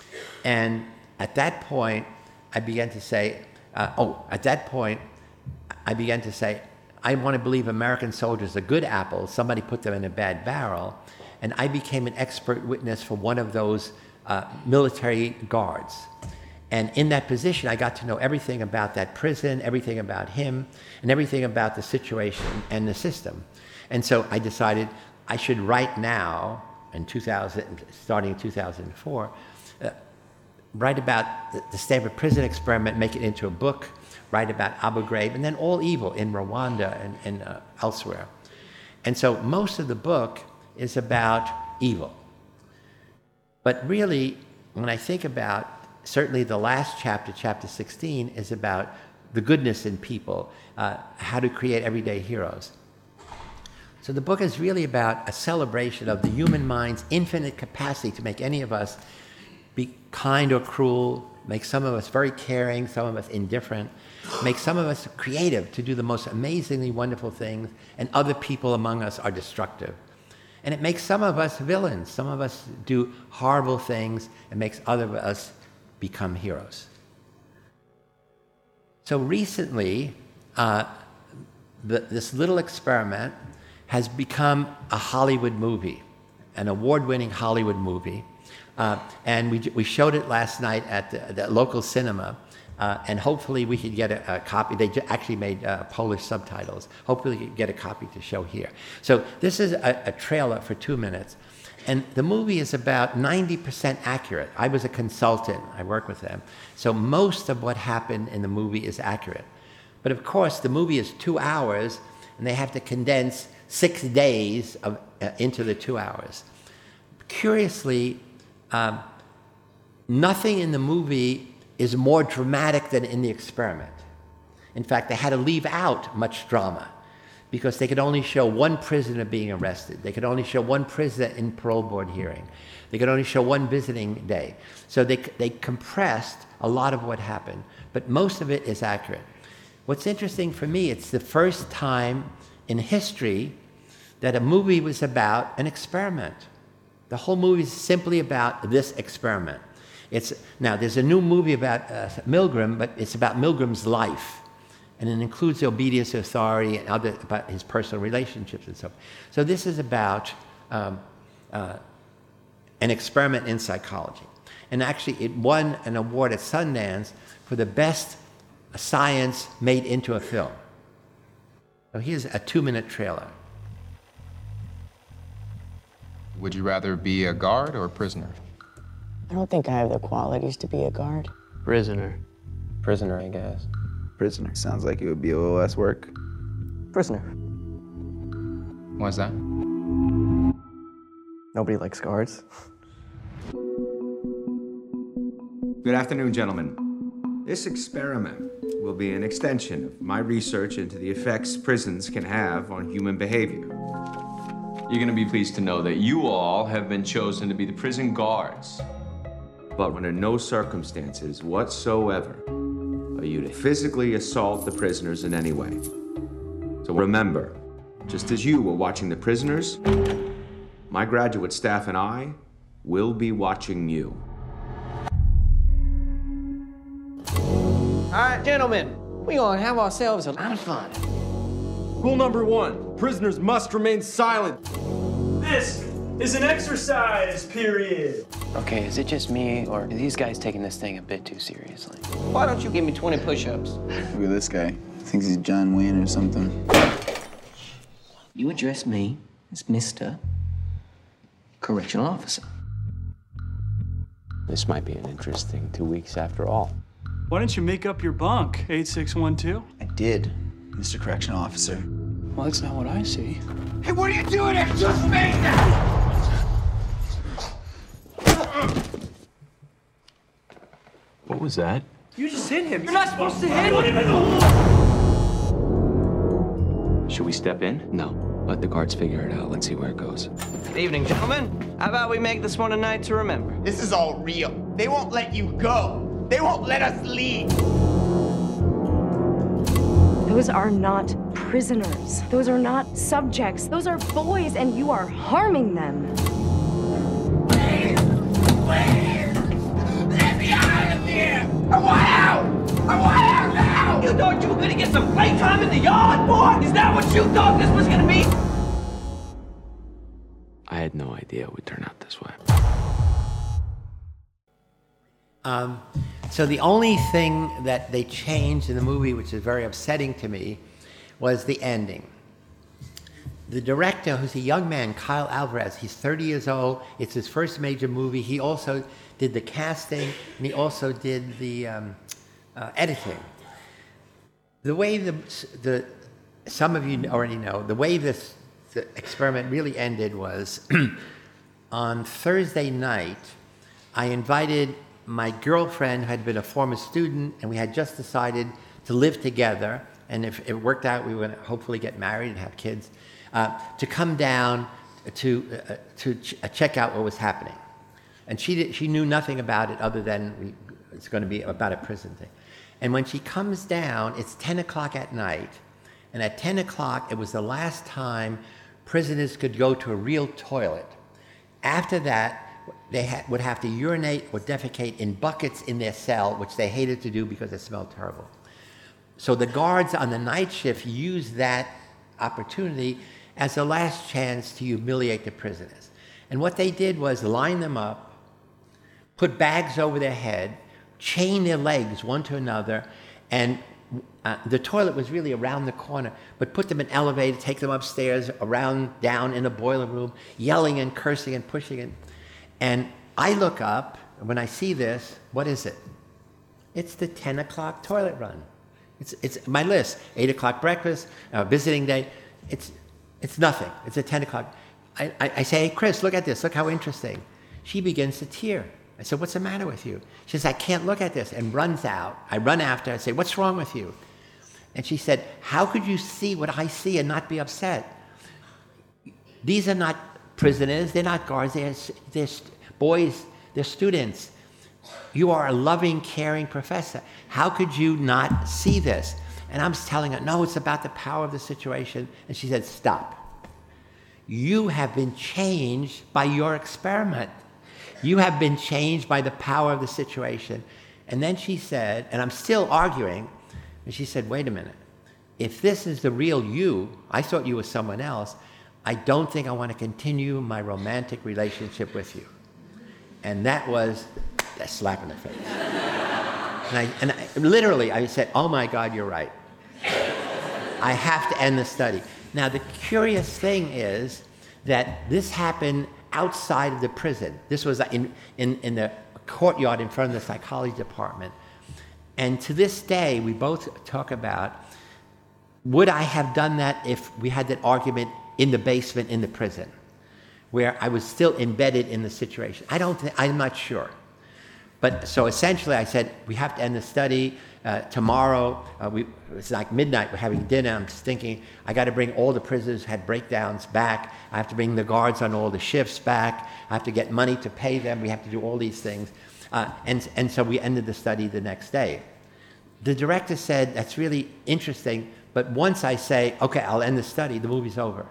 And at that point, I began to say, uh, oh, at that point, I began to say, I want to believe American soldiers are good apples. Somebody put them in a bad barrel. And I became an expert witness for one of those uh, military guards. And in that position, I got to know everything about that prison, everything about him, and everything about the situation and the system. And so I decided I should write now, in two thousand, starting in two thousand four, uh, write about the, the Stanford Prison Experiment, make it into a book, write about Abu Ghraib, and then all evil in Rwanda and, and uh, elsewhere. And so most of the book is about evil. But really, when I think about, certainly the last chapter, chapter sixteen, is about the goodness in people, uh, how to create everyday heroes. So the book is really about a celebration of the human mind's infinite capacity to make any of us be kind or cruel, make some of us very caring, some of us indifferent, make some of us creative to do the most amazingly wonderful things, and other people among us are destructive. And it makes some of us villains, some of us do horrible things, and makes other of us become heroes. So recently, uh, the, this little experiment has become a Hollywood movie, an award-winning Hollywood movie. Uh, and we, we showed it last night at the, the local cinema, uh, and hopefully we could get a, a copy. They ju- actually made uh, Polish subtitles. Hopefully we could get a copy to show here. So this is a, a trailer for two minutes. And the movie is about ninety percent accurate. I was a consultant. I work with them. So most of what happened in the movie is accurate. But of course, the movie is two hours, and they have to condense six days of, uh, into the two hours. Curiously, um, nothing in the movie is more dramatic than in the experiment. In fact, they had to leave out much drama, because they could only show one prisoner being arrested. They could only show one prisoner in parole board hearing. They could only show one visiting day. So they, they compressed a lot of what happened, but most of it is accurate. What's interesting for me, it's the first time in history that a movie was about an experiment. The whole movie is simply about this experiment. It's, now, there's a new movie about uh, Milgram, but it's about Milgram's life. And it includes the obedience to authority and other, about his personal relationships and so on. So this is about um, uh, an experiment in psychology. And actually, it won an award at Sundance for the best science made into a film. So here's a two-minute trailer. Would you rather be a guard or a prisoner? I don't think I have the qualities to be a guard. Prisoner. Prisoner, I guess. Prisoner. Sounds like it would be a little less work. Prisoner. Why's that? Nobody likes guards. Good afternoon, gentlemen. This experiment will be an extension of my research into the effects prisons can have on human behavior. You're gonna be pleased to know that you all have been chosen to be the prison guards. But under no circumstances whatsoever are you to physically assault the prisoners in any way. So remember, just as you were watching the prisoners, my graduate staff and I will be watching you. All right, gentlemen, we're gonna have ourselves a lot of fun. Rule number one, prisoners must remain silent. This is an exercise period. Okay, is it just me, or are these guys taking this thing a bit too seriously? Why don't you give me twenty push-ups? Look at this guy. Thinks he's John Wayne or something. You address me as Mister Correctional Officer. This might be an interesting two weeks after all. Why don't you make up your bunk, eight six one two? I did, Mister Correctional Officer. Well, that's not what I see. Hey, what are you doing? It's just me now! What was that? You just hit him. You're not supposed to hit him. Should we step in? No. Let the guards figure it out. Let's see where it goes. Good evening, gentlemen. How about we make this one a night to remember? This is all real. They won't let you go. They won't let us leave. Those are not prisoners. Those are not subjects. Those are boys, and you are harming them. Please, please, let me out of here. I want out. I want out now. You thought you were gonna get some playtime in the yard, boy? Is that what you thought this was gonna be? I had no idea it would turn out this way. Um, so the only thing that they changed in the movie, which is very upsetting to me, was the ending. The director, who's a young man, Kyle Alvarez, he's thirty years old. It's his first major movie. He also did the casting, and he also did the um, uh, editing. The way the, the, some of you already know, the way this the experiment really ended was on Thursday night, I invited my girlfriend, who had been a former student, and we had just decided to live together, and if it worked out, we would hopefully get married and have kids, uh, to come down to, uh, to ch- uh, check out what was happening. And she, did, she knew nothing about it other than we, it's going to be about a prison thing. And when she comes down, it's ten o'clock at night, and at ten o'clock, it was the last time prisoners could go to a real toilet. After that, they ha- would have to urinate or defecate in buckets in their cell, which they hated to do because it smelled terrible. So the guards on the night shift used that opportunity, as a last chance to humiliate the prisoners. And what they did was line them up, put bags over their head, chain their legs one to another, and uh, the toilet was really around the corner, but put them in elevator, take them upstairs, around, down in the boiler room, yelling and cursing and pushing it. And I look up, and when I see this, what is it? It's the ten o'clock toilet run. It's, it's my list. eight o'clock breakfast, uh, visiting day. It's, it's nothing. It's at ten o'clock. I, I, I say, hey, Chris, look at this. Look how interesting. She begins to tear. I said, what's the matter with you? She says, I can't look at this, and runs out. I run after her. I say, what's wrong with you? And she said, how could you see what I see and not be upset? These are not prisoners. They're not guards. They're, they're boys. They're students. You are a loving, caring professor. How could you not see this? And I'm telling her, no, it's about the power of the situation. And she said, stop. You have been changed by your experiment. You have been changed by the power of the situation. And then she said, and I'm still arguing, and she said, wait a minute. If this is the real you, I thought you were someone else, I don't think I want to continue my romantic relationship with you. And that was a slap in the face. And, I, and I, literally, I said, oh my God, you're right. I have to end the study. Now, the curious thing is that this happened outside of the prison. This was in, in, in the courtyard in front of the psychology department. And to this day, we both talk about, would I have done that if we had that argument in the basement in the prison, where I was still embedded in the situation? I don't think, I'm not sure. But so essentially I said, we have to end the study uh, tomorrow. Uh, we, it's like midnight, we're having dinner. I'm just thinking, I got to bring all the prisoners who had breakdowns back. I have to bring the guards on all the shifts back. I have to get money to pay them. We have to do all these things. Uh, and, and so we ended the study the next day. The director said, that's really interesting, but once I say, okay, I'll end the study, the movie's over.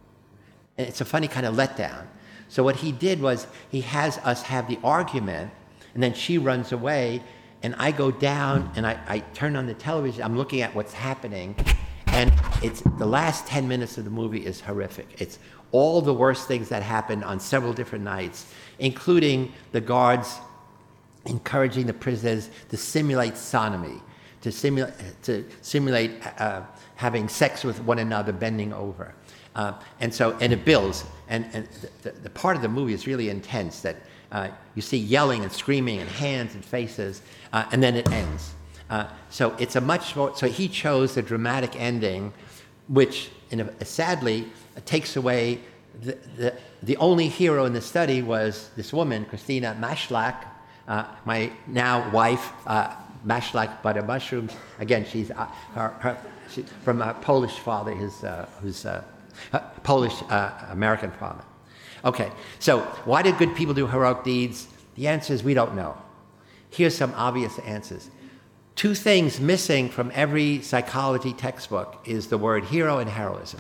And it's a funny kind of letdown. So what he did was, he has us have the argument, and then she runs away, and I go down, and I, I turn on the television, I'm looking at what's happening, and it's the last ten minutes of the movie is horrific. It's all the worst things that happened on several different nights, including the guards encouraging the prisoners to simulate sodomy, to simulate, to simulate uh, having sex with one another, bending over. Uh, and so, and it builds, and, and the, the part of the movie is really intense, that uh, you see yelling and screaming and hands and faces, uh, and then it ends. Uh, so it's a much more, so he chose the dramatic ending, which in a, sadly takes away, the, the, the only hero in the study was this woman, Christina Maslach, uh, my now wife, uh, Maslach Butter Mushrooms. Again, she's uh, her, her, she, from a Polish father, his, uh, who's uh, Uh, Polish uh, American father. Okay, so why did good people do heroic deeds? The answer is we don't know. Here's some obvious answers. Two things missing from every psychology textbook is the word hero and heroism.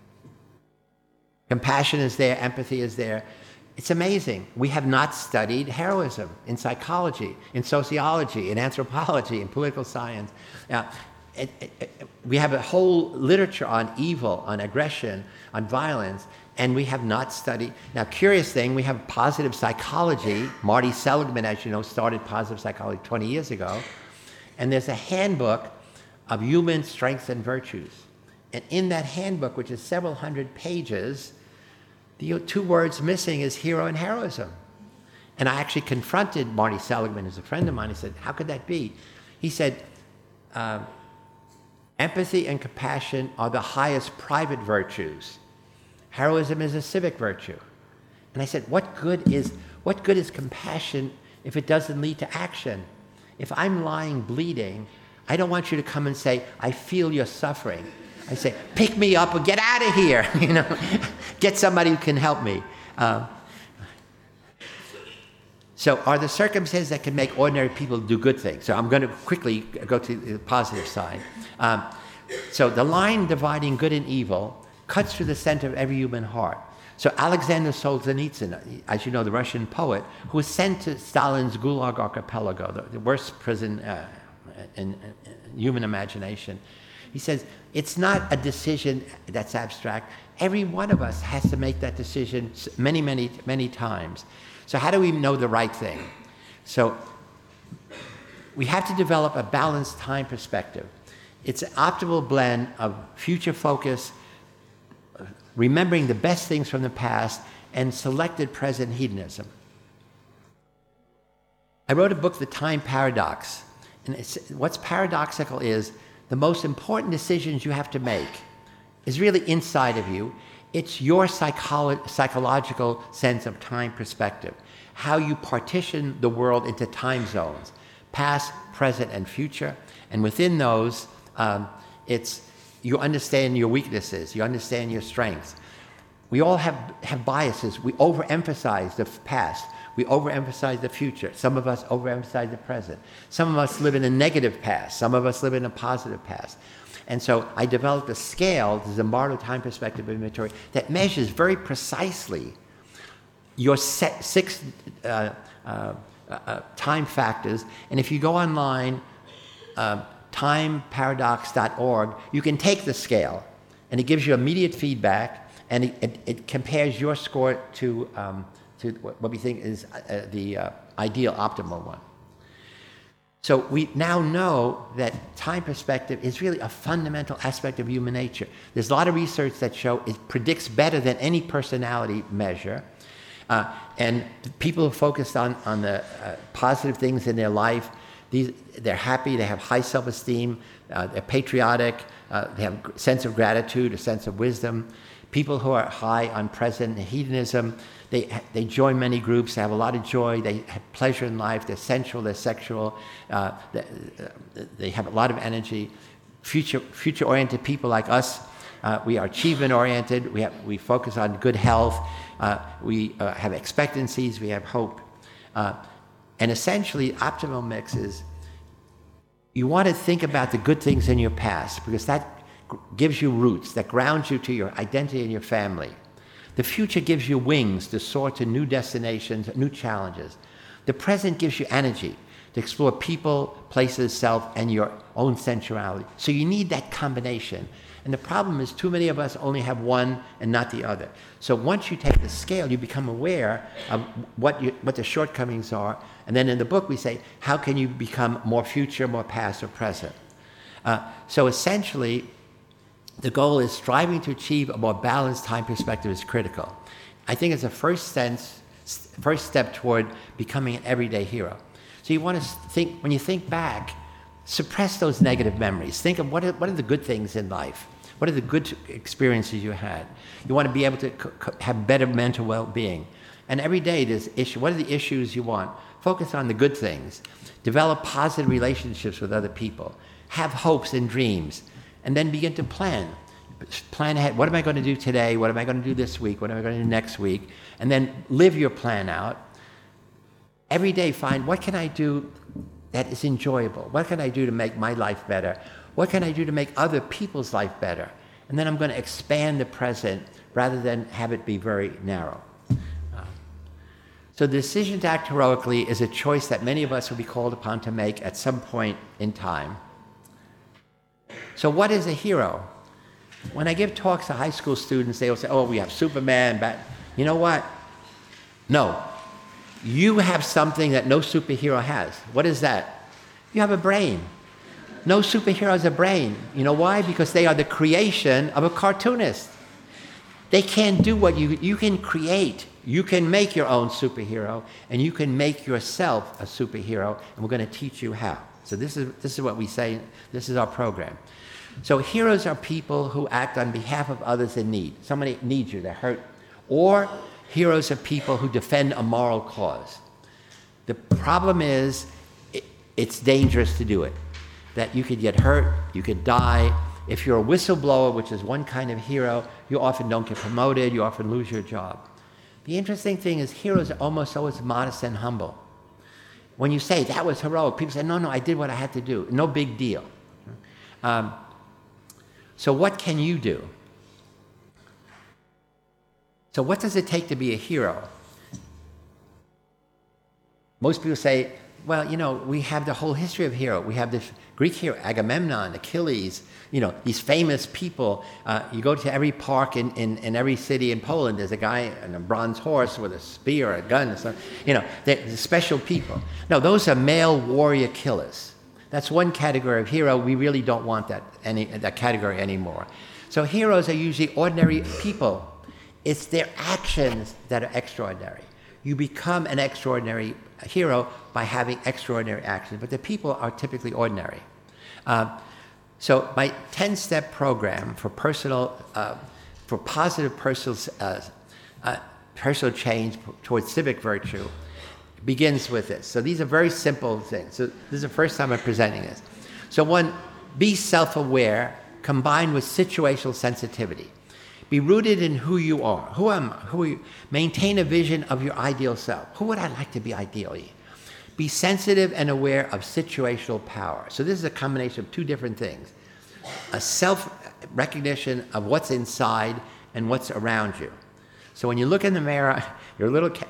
Compassion is there, empathy is there. It's amazing. We have not studied heroism in psychology, in sociology, in anthropology, in political science. Now, It, it, it, we have a whole literature on evil, on aggression, on violence, and we have not studied. Now, curious thing, we have positive psychology. Marty Seligman, as you know, started positive psychology twenty years ago. And there's a handbook of human strengths and virtues. And in that handbook, which is several hundred pages, the two words missing is hero and heroism. And I actually confronted Marty Seligman, who's a friend of mine. He said, how could that be? He said, uh, empathy and compassion are the highest private virtues. Heroism is a civic virtue. And I said, what good is, what good is compassion if it doesn't lead to action? If I'm lying bleeding, I don't want you to come and say, I feel your suffering. I say, pick me up or get out of here. You know, get somebody who can help me. Uh, so are there circumstances that can make ordinary people do good things? So I'm going to quickly go to the positive side. Um, so the line dividing good and evil cuts through the center of every human heart. So Alexander Solzhenitsyn, as you know, the Russian poet, who was sent to Stalin's Gulag Archipelago, the, the worst prison uh, in, in human imagination, He says, it's not a decision that's abstract. Every one of us has to make that decision many, many, many times. So how do we know the right thing? So we have to develop a balanced time perspective. It's an optimal blend of future focus, remembering the best things from the past, and selected present hedonism. I wrote a book, The Time Paradox. And it's, what's paradoxical is the most important decisions you have to make is really inside of you. It's your psycholo- psychological sense of time perspective, how you partition the world into time zones, past, present, and future. And within those, um, it's you understand your weaknesses, you understand your strengths. We all have, have biases. We overemphasize the past. We overemphasize the future. Some of us overemphasize the present. Some of us live in a negative past. Some of us live in a positive past. And so I developed a scale, the Zimbardo Time Perspective Inventory, that measures very precisely your set, six uh, uh, uh, time factors. And if you go online, uh, time paradox dot org, you can take the scale, and it gives you immediate feedback, and it, it, it compares your score to, um, to what we think is uh, the uh, ideal, optimal one. So we now know that time perspective is really a fundamental aspect of human nature. There's a lot of research that show it predicts better than any personality measure. Uh, and people who focus on, on the uh, positive things in their life, these, they're happy, they have high self-esteem, uh, they're patriotic, uh, they have a sense of gratitude, a sense of wisdom. People who are high on present hedonism, they, they join many groups, they have a lot of joy, they have pleasure in life, they're sensual, they're sexual, uh, they, they have a lot of energy. Future, future-oriented people like us, uh, we are achievement-oriented, we, have, we focus on good health, uh, we uh, have expectancies, we have hope. Uh, and essentially, optimal mix is you want to think about the good things in your past, because that gives you roots, that grounds you to your identity and your family. The future gives you wings to soar to new destinations, new challenges. The present gives you energy to explore people, places, self, and your own sensuality. So you need that combination. And the problem is too many of us only have one and not the other. So once you take the scale, you become aware of what, you, what the shortcomings are. And then in the book we say, how can you become more future, more past, or present? Uh, so essentially, the goal is striving to achieve a more balanced time perspective is critical. I think it's a first, sense, first step toward becoming an everyday hero. So you want to think, when you think back, suppress those negative memories. Think of what are, what are the good things in life? What are the good experiences you had? You want to be able to have better mental well-being. And every day there's issue. What are the issues you want? Focus on the good things. Develop positive relationships with other people. Have hopes and dreams. And then begin to plan. Plan ahead. What am I going to do today? What am I going to do this week? What am I going to do next week? And then live your plan out. Every day find, what can I do that is enjoyable? What can I do to make my life better? What can I do to make other people's life better? And then I'm going to expand the present rather than have it be very narrow. Uh, so the decision to act heroically is a choice that many of us will be called upon to make at some point in time. So what is a hero? When I give talks to high school students, they will say, oh, we have Superman, Bat. You know what? No. You have something that no superhero has. What is that? You have a brain. No superhero has a brain. You know why? Because they are the creation of a cartoonist. They can't do what you, you can create. You can make your own superhero, and you can make yourself a superhero, and we're going to teach you how. So this is, this is what we say, this is our program. So heroes are people who act on behalf of others in need. Somebody needs you, they're hurt. Or heroes are people who defend a moral cause. The problem is, it, it's dangerous to do it. That you could get hurt, you could die. If you're a whistleblower, which is one kind of hero, you often don't get promoted, you often lose your job. The interesting thing is heroes are almost always modest and humble. When you say, that was heroic, people say, no, no, I did what I had to do. No big deal. Um, so what can you do? So what does it take to be a hero? most people say, well, you know, we have the whole history of hero. We have this Greek hero, Agamemnon, Achilles, you know, these famous people. Uh, you go to every park in, in, in every city in Poland, there's a guy on a bronze horse with a spear or a gun or something. You know, they're special people. No, those are male warrior killers. That's one category of hero. We really don't want that, any, that category anymore. So heroes are usually ordinary people. It's their actions that are extraordinary. You become an extraordinary hero by having extraordinary actions, but the people are typically ordinary. Uh, so my ten-step program for personal, uh, for positive personal, uh, uh, personal change towards civic virtue begins with this. So these are very simple things. So this is the first time I'm presenting this. So one, be self-aware combined with situational sensitivity. Be rooted in who you are. Who am I? Who are you? Maintain a vision of your ideal self. Who would I like to be ideally? Be sensitive and aware of situational power. So this is a combination of two different things. A self-recognition of what's inside and what's around you. So when you look in the mirror, you're a little cat.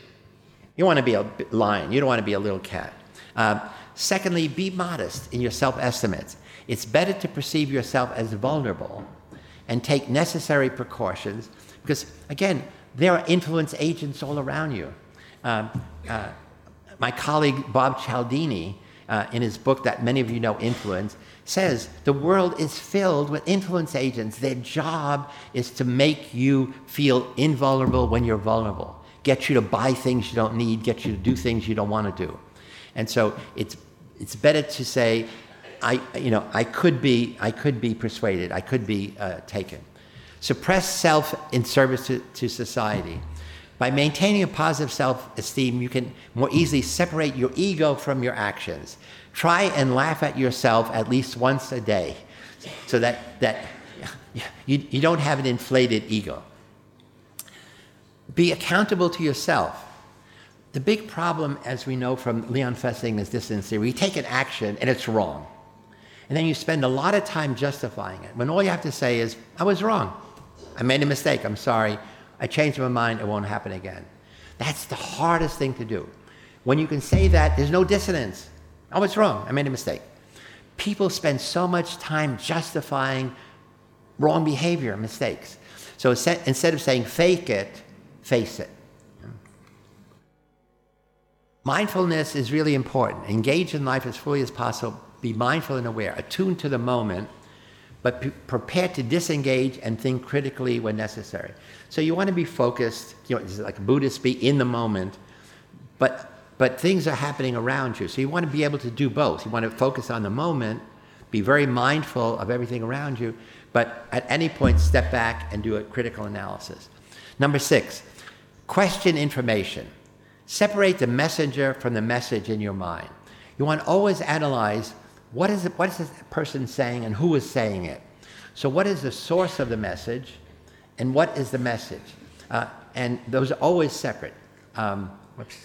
You want to be a lion. You don't want to be a little cat. Uh, secondly, be modest in your self-estimates. It's better to perceive yourself as vulnerable and take necessary precautions because, again, there are influence agents all around you. Um, uh, my colleague Bob Cialdini, uh, in his book that many of you know, Influence, says the world is filled with influence agents. Their job is to make you feel invulnerable when you're vulnerable, get you to buy things you don't need, get you to do things you don't want to do. And so it's it's better to say, I, you know, I could be, I could be persuaded, I could be uh, taken. Suppress self in service to, to society. By maintaining a positive self-esteem, you can more easily separate your ego from your actions. Try and laugh at yourself at least once a day, so that that you, you don't have an inflated ego. Be accountable to yourself. The big problem, as we know from Leon Fessinger's dissonance theory, you take an action and it's wrong. And then you spend a lot of time justifying it, when all you have to say is, I was wrong. I made a mistake, I'm sorry. I changed my mind, it won't happen again. That's the hardest thing to do. When you can say that, there's no dissonance. I was wrong, I made a mistake. People spend so much time justifying wrong behavior, mistakes. So instead of saying fake it, face it. Mindfulness is really important. Engage in life as fully as possible. Be mindful and aware, attuned to the moment, but p- prepared to disengage and think critically when necessary. So you want to be focused, you know, it's like Buddhists, be in the moment, but but things are happening around you. So you want to be able to do both. You want to focus on the moment, be very mindful of everything around you, but at any point step back and do a critical analysis. Number six, question information. Separate the messenger from the message in your mind. You want to always analyze what is, it, what is this person saying and who is saying it. So what is the source of the message and what is the message? Uh, and those are always separate. Um, whoops.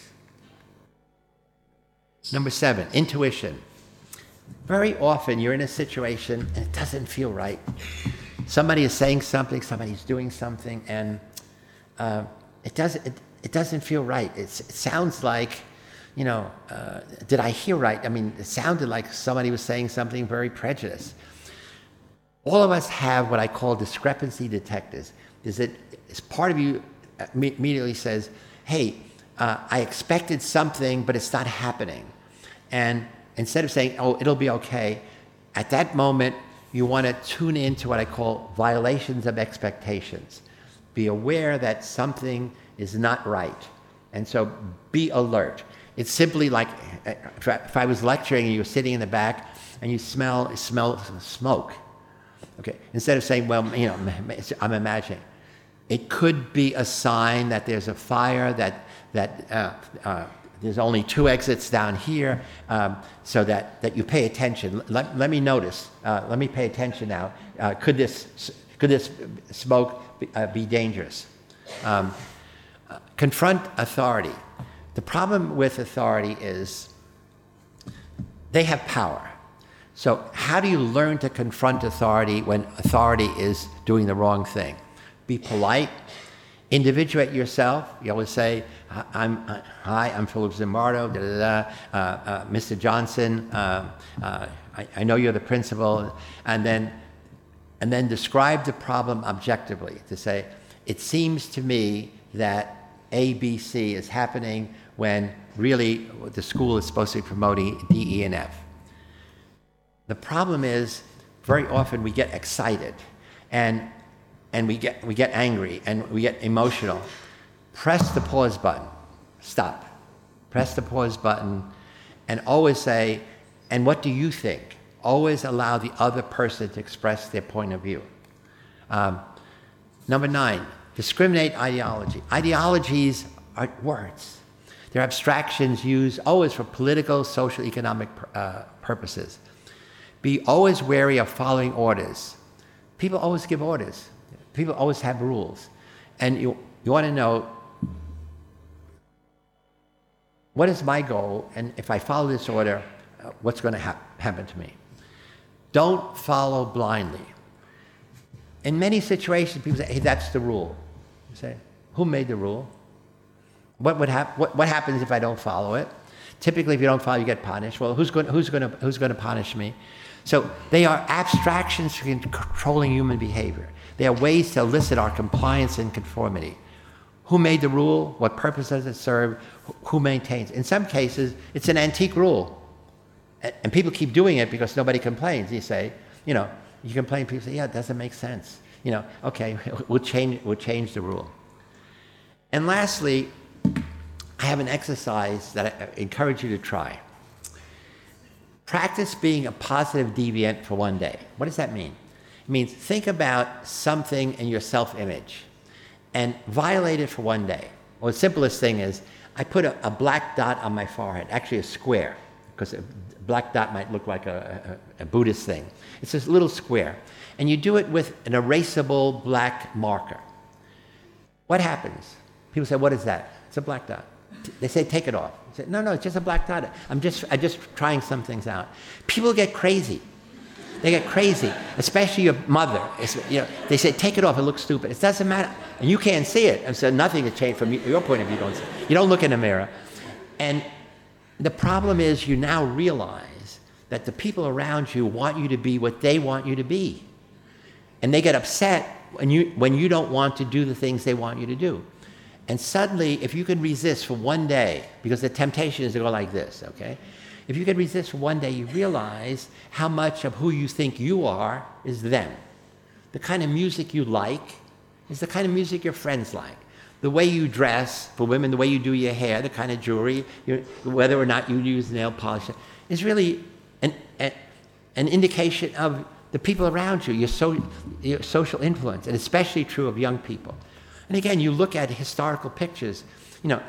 Number seven, intuition. Very often you're in a situation and it doesn't feel right. Somebody is saying something, somebody's doing something, and uh, it doesn't it, it doesn't feel right. It's, it sounds like, you know, uh, did I hear right? I mean, it sounded like somebody was saying something very prejudiced. All of us have what I call discrepancy detectors. Is it, is part of you immediately says, hey, uh, I expected something, but it's not happening. And instead of saying, oh, it'll be okay, at that moment, you want to tune into what I call violations of expectations. Be aware that something is not right. And so be alert. It's simply like if I was lecturing and you were sitting in the back and you smell smell smoke. Okay. Instead of saying, well, you know, I'm imagining. It could be a sign that there's a fire, that that uh, uh, there's only two exits down here, um, so that, that you pay attention. Let, let me notice. Uh, let me pay attention now. Uh, could this could this smoke be, uh, be dangerous? Um, uh, confront authority. The problem with authority is they have power. So how do you learn to confront authority when authority is doing the wrong thing? Be polite Individuate yourself. You always say, I'm, uh, hi, I'm Philip Zimbardo, da, da, da, uh, uh, Mister Johnson, uh, uh, I, I know you're the principal, and then, and then describe the problem objectively, to say, it seems to me that A, B, C is happening when really the school is supposed to be promoting D, E, and F. The problem is, very often we get excited, and and we get we get angry, and we get emotional. Press the pause button. Stop. Press the pause button, and always say, and what do you think? Always allow the other person to express their point of view. Um, number nine, discriminate ideology. Ideologies are words. They're abstractions used always for political, social, economic uh, purposes. Be always wary of following orders. People always give orders. People always have rules. And you, you want to know, what is my goal? And if I follow this order, uh, what's going to ha- happen to me? Don't follow blindly. In many situations, people say, hey, that's the rule. You say, who made the rule? What, would hap- what, what happens if I don't follow it? Typically, if you don't follow, you get punished. Well, who's going, who's going to, who's going to punish me? So they are abstractions for controlling human behavior. They are ways to elicit our compliance and conformity. Who made the rule? What purpose does it serve? Who maintains? In some cases, it's an antique rule. And people keep doing it because nobody complains. You say, you know, you complain, people say, yeah, it doesn't make sense. You know, okay, we'll change, we'll change the rule. And lastly, I have an exercise that I encourage you to try. Practice being a positive deviant for one day. What does that mean? It means think about something in your self-image and violate it for one day. Well, the simplest thing is, I put a, a black dot on my forehead, actually a square, because a black dot might look like a, a, a Buddhist thing. It's this little square. And you do it with an erasable black marker. What happens? People say, what is that? It's a black dot. They say, take it off. I say, no, no, it's just a black dot. I'm just, I'm just trying some things out. People get crazy. They get crazy, especially your mother. It's, you know, they say, take it off, it looks stupid. It doesn't matter. And you can't see it. And so nothing has changed from your point of view. You don't, see. You don't look in the mirror. And the problem is you now realize that the people around you want you to be what they want you to be. And they get upset when you, when you don't want to do the things they want you to do. And suddenly, if you can resist for one day, because the temptation is to go like this, okay? If you can resist for one day, you realize how much of who you think you are is them. The kind of music you like is the kind of music your friends like. The way you dress, for women, the way you do your hair, the kind of jewelry, whether or not you use nail polish, is really an, an, an indication of the people around you, your, so, your social influence, and especially true of young people. And again, you look at historical pictures. You know,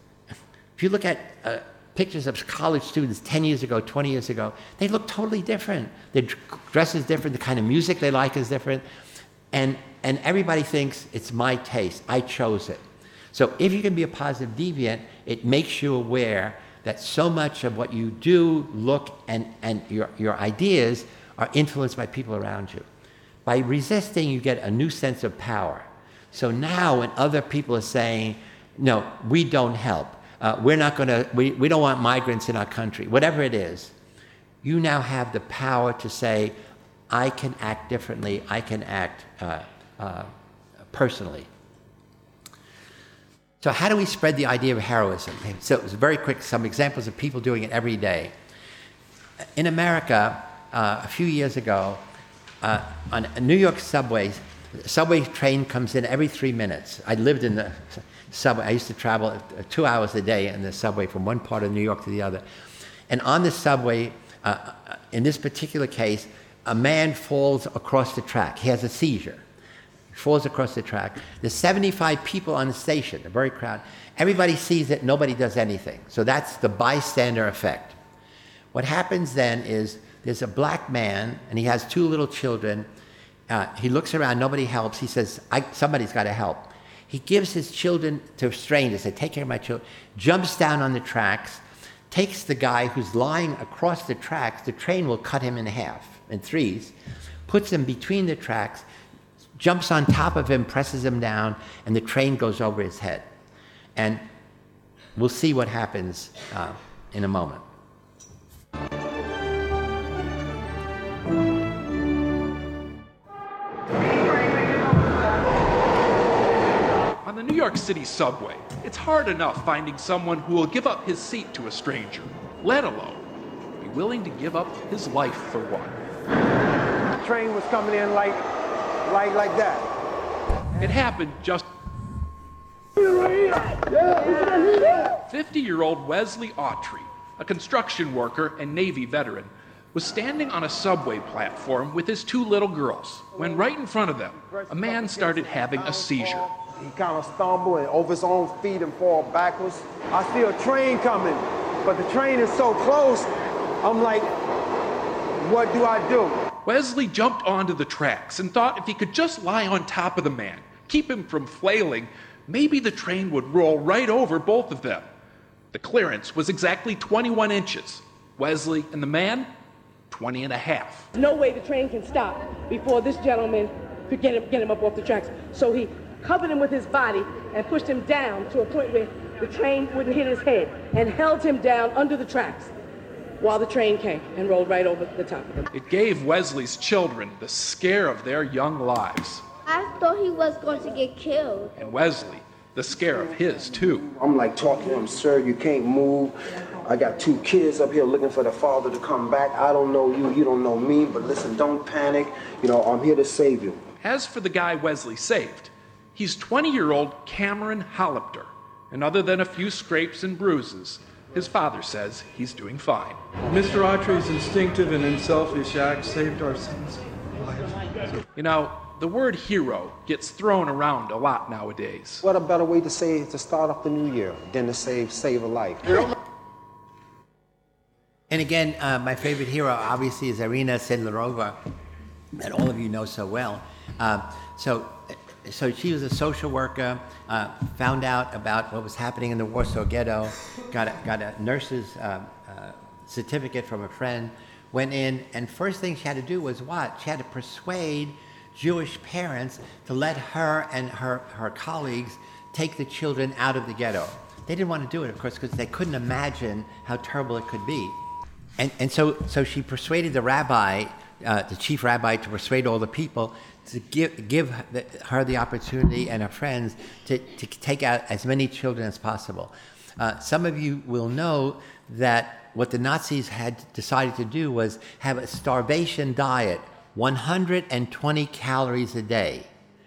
if you look at uh, pictures of college students ten years ago, twenty years ago, they look totally different. Their dress is different, the kind of music they like is different, and, and everybody thinks it's my taste, I chose it. So if you can be a positive deviant, it makes you aware that so much of what you do, look, and, and your, your ideas are influenced by people around you. By resisting, you get a new sense of power. So now when other people are saying, no, we don't help, uh, we're not going to, we, we don't want migrants in our country, whatever it is, you now have the power to say, I can act differently, I can act uh, uh, personally. So how do we spread the idea of heroism? So it's very quick, some examples of people doing it every day. In America, uh, a few years ago, uh, on a New York subways, the subway train comes in every three minutes. I lived in the subway. I used to travel two hours a day in the subway from one part of New York to the other. And on the subway, uh, in this particular case, a man falls across the track. He has a seizure. He falls across the track. There's seventy-five people on the station, a very crowded. Everybody sees it, nobody does anything. So that's the bystander effect. What happens then is there's a black man, and he has two little children. Uh, he looks around, nobody helps. He says, I, somebody's got to help. He gives his children to strangers, says, take care of my children, jumps down on the tracks, takes the guy who's lying across the tracks, the train will cut him in half, in threes, puts him between the tracks, jumps on top of him, presses him down, and the train goes over his head. And we'll see what happens uh, in a moment. On the New York City subway, it's hard enough finding someone who will give up his seat to a stranger, let alone be willing to give up his life for one. The train was coming in like, like, like that. It happened just... fifty-year-old Wesley Autry, a construction worker and Navy veteran, was standing on a subway platform with his two little girls when right in front of them, a man started having a seizure. He kind of stumbled and over his own feet and fall backwards. I see a train coming, but the train is so close, I'm like, what do I do? Wesley jumped onto the tracks and thought if he could just lie on top of the man, keep him from flailing, maybe the train would roll right over both of them. The clearance was exactly twenty-one inches. Wesley and the man, twenty and a half. There's no way the train can stop before this gentleman could get him, get him up off the tracks. So he covered him with his body and pushed him down to a point where the train wouldn't hit his head and held him down under the tracks while the train came and rolled right over the top of him. It gave Wesley's children the scare of their young lives. I thought he was going to get killed. And Wesley, the scare of his, too. I'm like talking to him, sir, you can't move. I got two kids up here looking for the father to come back. I don't know you, you don't know me, but listen, don't panic. You know, I'm here to save you. As for the guy Wesley saved, he's twenty-year-old Cameron Hollipter. And other than a few scrapes and bruises, his father says he's doing fine. Mister Autry's instinctive and unselfish act saved our son's life. You know, the word hero gets thrown around a lot nowadays. What a better way to say to start off the new year than to save save a life. And again, uh, my favorite hero obviously is Irina Sendlerova, that all of you know so well. Uh, so, so she was a social worker, uh, found out about what was happening in the Warsaw Ghetto, got a, got a nurse's uh, uh, certificate from a friend, went in, and first thing she had to do was what? She had to persuade Jewish parents to let her and her, her colleagues take the children out of the ghetto. They didn't want to do it, of course, because they couldn't imagine how terrible it could be. And, and so, so she persuaded the rabbi, uh, the chief rabbi, to persuade all the people to give, give the, her the opportunity and her friends to, to take out as many children as possible. Uh, some of you will know that what the Nazis had decided to do was have a starvation diet, one hundred twenty calories a day,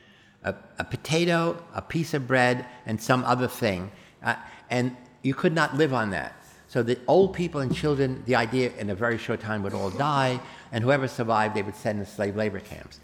a, a potato, a piece of bread, and some other thing. Uh, and you could not live on that. So the old people and children, the idea in a very short time would all die, and whoever survived, they would send to slave labor camps.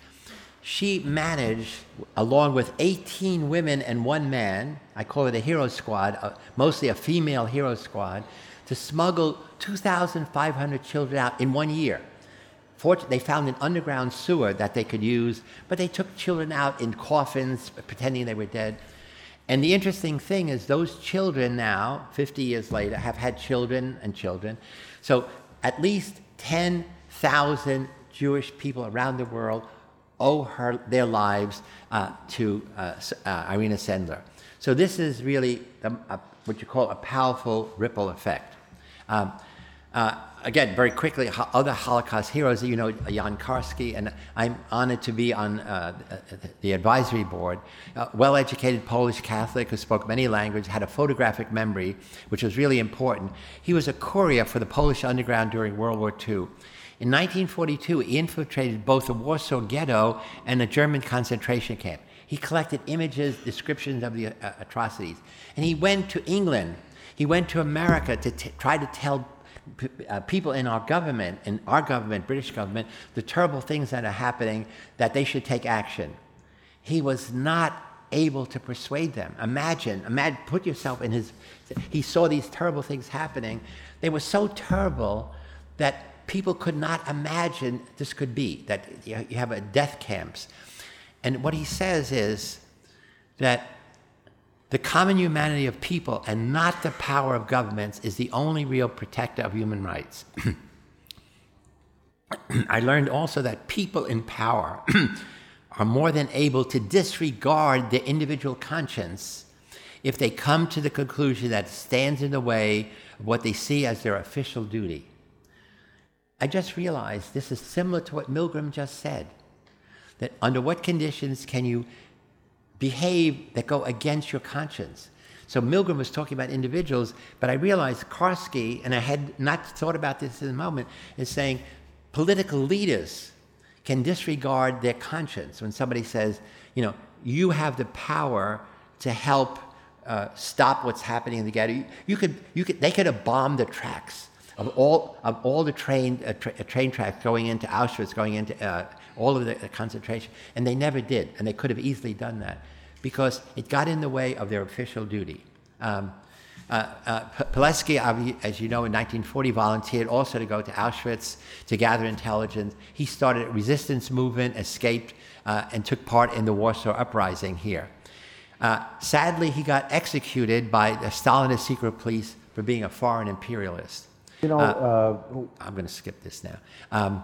She managed, along with eighteen women and one man, I call it a hero squad, uh, mostly a female hero squad, to smuggle two thousand five hundred children out in one year. Fortunately, they found an underground sewer that they could use, but they took children out in coffins, pretending they were dead. And the interesting thing is those children now, fifty years later, have had children and children. So at least ten thousand Jewish people around the world owe her their lives uh, to uh, uh, Irina Sendler. So this is really a, a, what you call a powerful ripple effect. Um, uh, again, very quickly, ho- other Holocaust heroes, you know, Jan Karski, and I'm honored to be on uh, the advisory board. Uh, well-educated Polish Catholic who spoke many languages, had a photographic memory, which was really important. He was a courier for the Polish underground during World War Two. In nineteen forty-two, he infiltrated both the Warsaw Ghetto and a German concentration camp. He collected images, descriptions of the uh, atrocities. And he went to England. He went to America to t- try to tell p- uh, people in our government, in our government, British government, the terrible things that are happening, that they should take action. He was not able to persuade them. Imagine, imagine, put yourself in his, he saw these terrible things happening. They were so terrible that people could not imagine this could be, that you have a death camps. And what he says is that the common humanity of people and not the power of governments is the only real protector of human rights. I learned also that people in power are more than able to disregard their individual conscience if they come to the conclusion that it stands in the way of what they see as their official duty. I just realized this is similar to what Milgram just said, that under what conditions can you behave that go against your conscience? So Milgram was talking about individuals, but I realized Karski, and I had not thought about this in a moment, is saying political leaders can disregard their conscience when somebody says, you know, you have the power to help uh, stop what's happening in the ghetto. You, you could, you could, they could have bombed the tracks of all of all the train uh, tra- train tracks going into Auschwitz, going into uh, all of the, the concentration, and they never did, and they could have easily done that because it got in the way of their official duty. Um, uh, uh, Pilecki, as you know, in nineteen forty volunteered also to go to Auschwitz to gather intelligence. He started a resistance movement, escaped, uh, and took part in the Warsaw Uprising here. Uh, sadly, he got executed by the Stalinist secret police for being a foreign imperialist. You know, uh, uh, I'm going to skip this now. Um,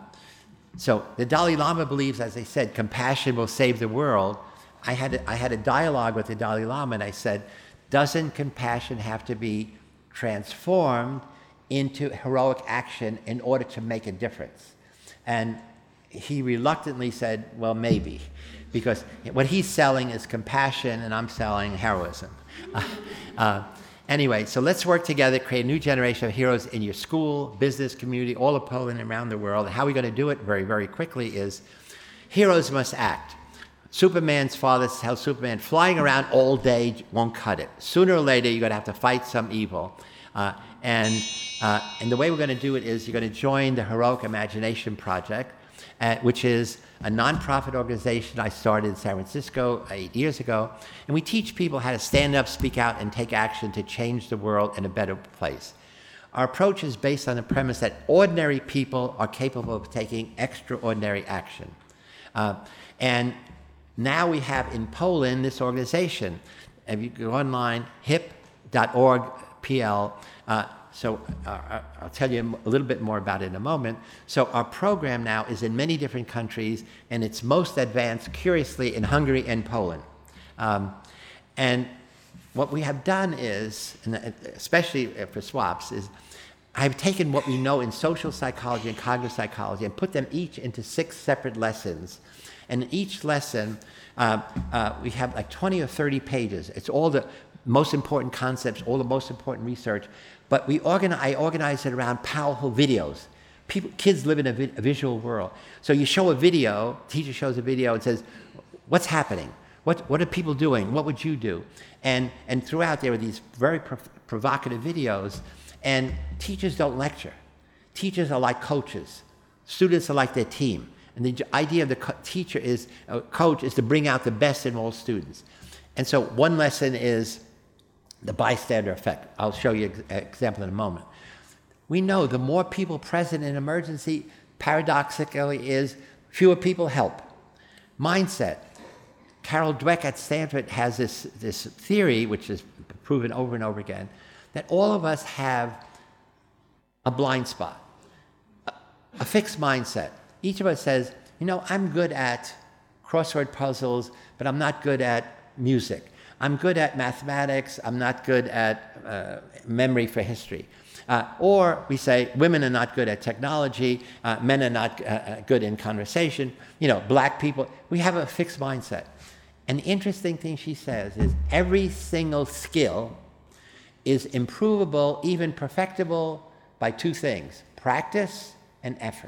so the Dalai Lama believes, as I said, compassion will save the world. I had a, I had a dialogue with the Dalai Lama, and I said, doesn't compassion have to be transformed into heroic action in order to make a difference? And he reluctantly said, well, maybe, because what he's selling is compassion and I'm selling heroism. Uh, uh, Anyway, so let's work together, create a new generation of heroes in your school, business, community, all of Poland and around the world. And how are we going to do it very, very quickly is heroes must act. Superman's father tells Superman, flying around all day won't cut it. Sooner or later, you're going to have to fight some evil. Uh, and, uh, and the way we're going to do it is you're going to join the Heroic Imagination Project, uh, which is a nonprofit organization I started in San Francisco eight years ago. And we teach people how to stand up, speak out, and take action to change the world in a better place. Our approach is based on the premise that ordinary people are capable of taking extraordinary action. Uh, and now we have in Poland this organization. If you go online, hip dot org P L, uh, so uh, I'll tell you a little bit more about it in a moment. So our program now is in many different countries, and it's most advanced, curiously, in Hungary and Poland. Um, and what we have done is, and especially for SWAPS, is I've taken what we know in social psychology and cognitive psychology and put them each into six separate lessons. And in each lesson, uh, uh, we have like twenty or thirty pages. It's all the most important concepts, all the most important research. But we organize, I organize it around powerful videos. People, kids live in a, vi- a visual world. So you show a video, teacher shows a video and says, what's happening? What, what are people doing? What would you do? And, and throughout there are these very prov- provocative videos. And teachers don't lecture. Teachers are like coaches. Students are like their team. And the idea of the co- teacher is, uh, coach is to bring out the best in all students. And so one lesson is the bystander effect. I'll show you an example in a moment. We know the more people present in emergency, paradoxically, is fewer people help. Mindset. Carol Dweck at Stanford has this, this theory, which is proven over and over again, that all of us have a blind spot, a, a fixed mindset. Each of us says, you know, I'm good at crossword puzzles, but I'm not good at music. I'm good at mathematics, I'm not good at uh, memory for history. Uh, or we say, women are not good at technology, uh, men are not uh, good in conversation, you know, black people. We have a fixed mindset. And the interesting thing she says is every single skill is improvable, even perfectible, by two things, practice and effort.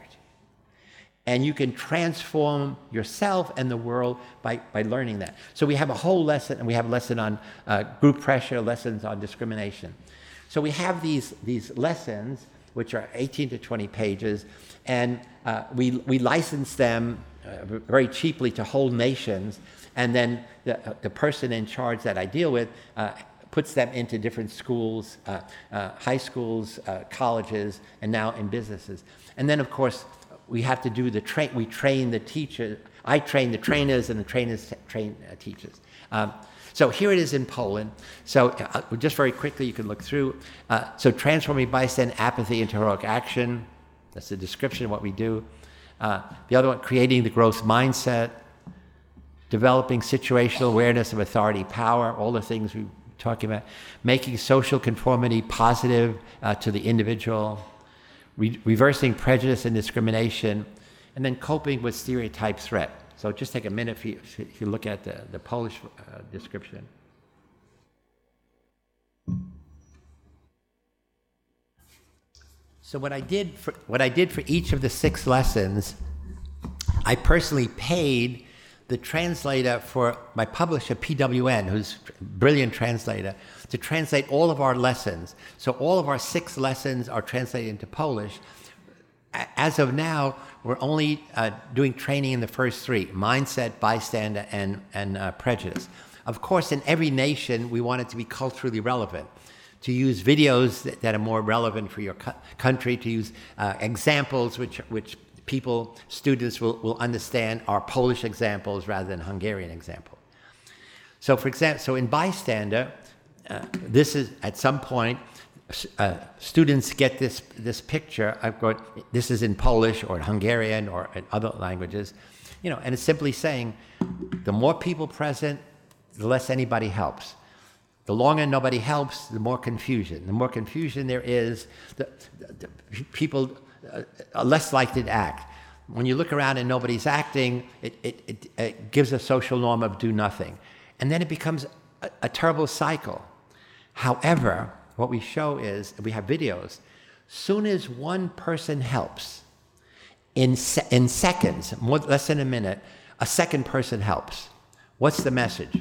And you can transform yourself and the world by, by learning that. So we have a whole lesson, and we have a lesson on uh, group pressure, lessons on discrimination. So we have these, these lessons, which are eighteen to twenty pages, and uh, we, we license them uh, very cheaply to whole nations, and then the, uh, the person in charge that I deal with uh, puts them into different schools, uh, uh, high schools, uh, colleges, and now in businesses. And then, of course, we have to do the train, we train the teachers, I train the trainers and the trainers train uh, teachers. Um, so here it is in Poland. So uh, just very quickly, you can look through. Uh, so transforming bystander apathy into heroic action. That's the description of what we do. Uh, the other one, creating the growth mindset. developing situational awareness of authority, power, all the things we were talking about, making social conformity positive uh, to the individual, re- reversing prejudice and discrimination, and then coping with stereotype threat. So just take a minute if you, if you look at the, the Polish uh, description. So what I did for what I did for each of the six lessons, I personally paid the translator for my publisher, P W N, who's a brilliant translator, to translate all of our lessons. So all of our six lessons are translated into Polish. As of now, we're only uh, doing training in the first three: mindset, bystander, and, and uh, prejudice. Of course, in every nation, we want it to be culturally relevant, to use videos that, that are more relevant for your co- country, to use uh, examples which, which people, students will, will understand are Polish examples rather than Hungarian examples. So for example, so in bystander, uh, this is at some point, uh, students get this, this picture. I've got, this is in Polish or in Hungarian or in other languages, you know, and it's simply saying, the more people present, the less anybody helps. The longer nobody helps, the more confusion. The more confusion there is, the, the, the people uh, are less likely to act. When you look around and nobody's acting, it, it, it, it gives a social norm of do nothing. And then it becomes a, a terrible cycle. However, what we show is, we have videos, soon as one person helps, in, se- in seconds, more, less than a minute, a second person helps. What's the message?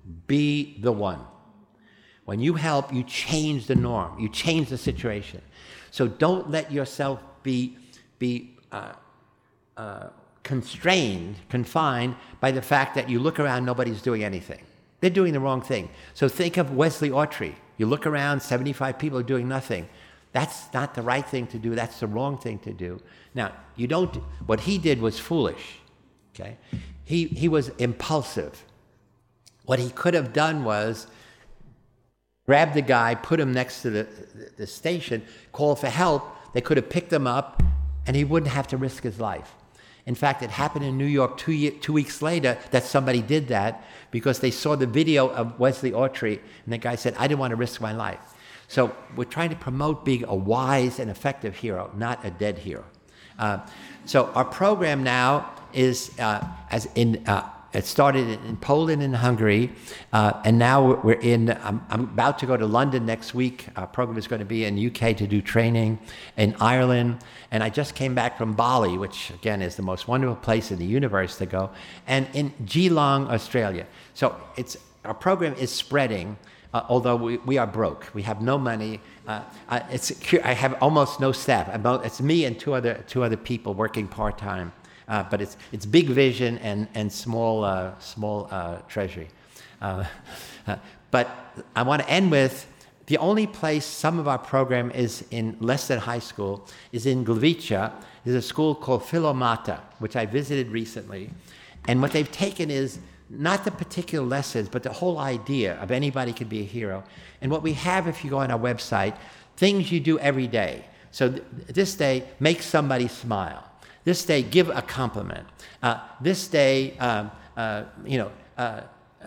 Be the one. When you help, you change the norm. You change the situation. So don't let yourself be, be uh, uh, constrained, confined by the fact that you look around, nobody's doing anything. They're doing the wrong thing. So think of Wesley Autry. You look around, seventy-five people are doing nothing. That's not the right thing to do. That's the wrong thing to do. Now, you don't, what he did was foolish, okay? He, he was impulsive. What he could have done was grab the guy, put him next to the, the, the station, call for help. They could have picked him up, and he wouldn't have to risk his life. In fact, it happened in New York two, year, two weeks later that somebody did that because they saw the video of Wesley Autry, and the guy said, I didn't want to risk my life. So we're trying to promote being a wise and effective hero, not a dead hero. Uh, so our program now is, uh, as in, uh, it started in Poland and Hungary, uh, and now we're in, I'm, I'm about to go to London next week. Our program is going to be in U K to do training, in Ireland, and I just came back from Bali, which again is the most wonderful place in the universe to go, and in Geelong, Australia. So it's, our program is spreading, uh, although we, we are broke. We have no money. Uh, uh, it's, I have almost no staff. About, it's me and two other, two other people working part-time. Uh, but it's it's big vision and and small uh, small uh, treasury. Uh, uh, but I want to end with the only place some of our program is in less than high school is in Gliwice. There's a school called Philomata, which I visited recently, and what they've taken is not the particular lessons, but the whole idea of anybody can be a hero. And what we have, if you go on our website, things you do every day. So th- this day, make somebody smile. This day, give a compliment. Uh, this day, um, uh, you know, uh, uh,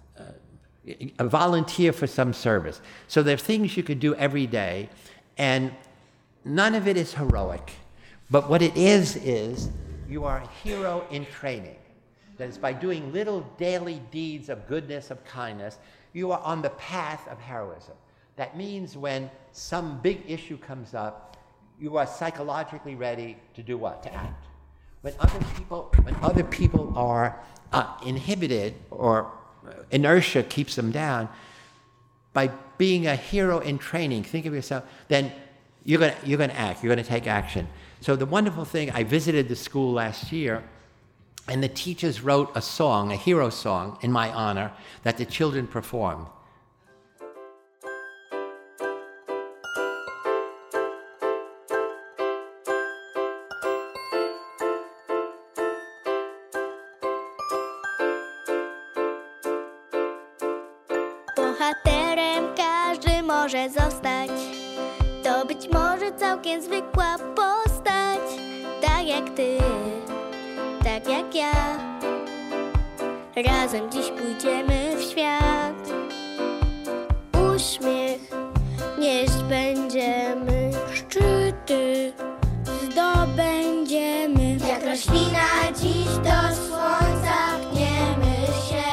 uh, volunteer for some service. So there are things you could do every day, and none of it is heroic. But what it is, is you are a hero in training. That is, by doing little daily deeds of goodness, of kindness, you are on the path of heroism. That means when some big issue comes up, you are psychologically ready to do what? To act. When other people, when other people are uh, inhibited or inertia keeps them down, by being a hero in training, think of yourself, then you're gonna you're gonna act. You're gonna take action. So the wonderful thing, I visited the school last year, and the teachers wrote a song, a hero song, in my honor that the children performed. Bohaterem każdy może zostać. To być może całkiem zwykła postać. Tak jak ty, tak jak ja. razem dziś pójdziemy w świat. Uśmiech nieść będziemy, szczyty zdobędziemy. Jak roślina dziś do słońca pniemy się.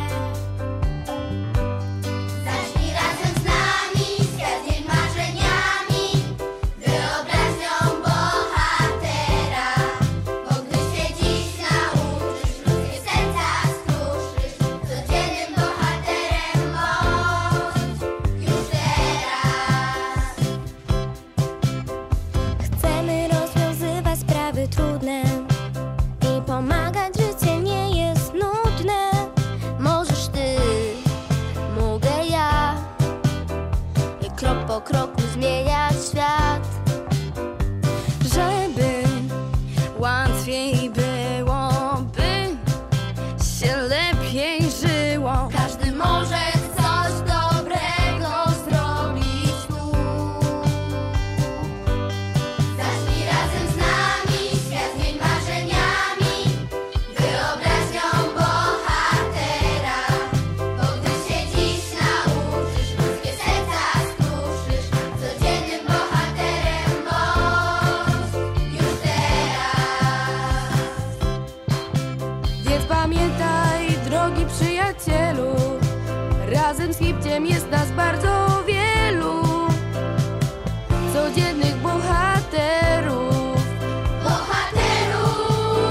Zacznij razem z nami, świat z marzeniami, wyobraźnią bohatera. Bo gdy się dziś nauczysz, ludzkie serca skruszysz, codziennym bohaterem bądź już teraz. Chcemy rozwiązywać sprawy trudne i pomagać, życie nie jest nudne. Możesz ty, mogę ja, i krok po kroku zmieniać świat. Żeby łatwiej byłoby, się lepiej żyło. Każdy może coś dobrego zrobić tu. Zacznij razem z nami, świat zmień marzeniami, wyobraźnią bohatera. Bo gdy się dziś nauczysz, ludzkie serca skruszysz, codziennym bohaterem bądź już teraz. Więc pamiętaj, drogi przyjacielu, razem z Hipciem jest nas bardzo wielu. Codziennych bohaterów. Bohaterów.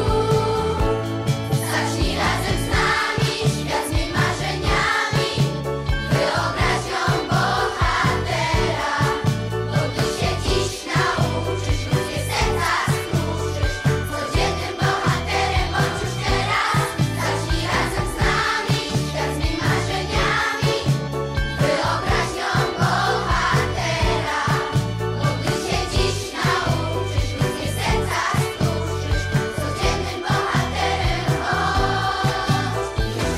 Zacznij razem z nami, świat zmień marzeniami, wyobraźnią bohatera. Bo gdy się dziś nauczysz, ludzkie serca skruszysz, codziennym bohaterem bądź już teraz. Zacznij razem z nami, świat zmień marzeniami, wyobraźnią bohatera. Bo gdy się dziś nauczysz, ludzkie serca skruszysz, codziennym bohaterem bądź już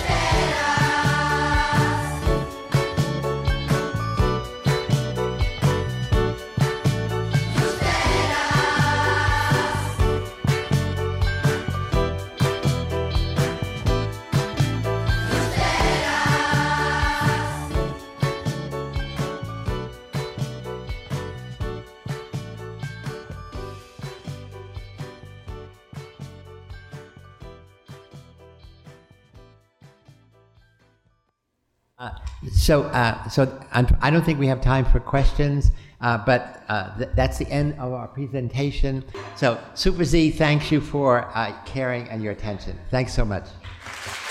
Uh, so, uh, so I'm, I don't think we have time for questions, uh, but uh, th- that's the end of our presentation. So, Super Z thanks you for uh, caring and your attention. Thanks so much.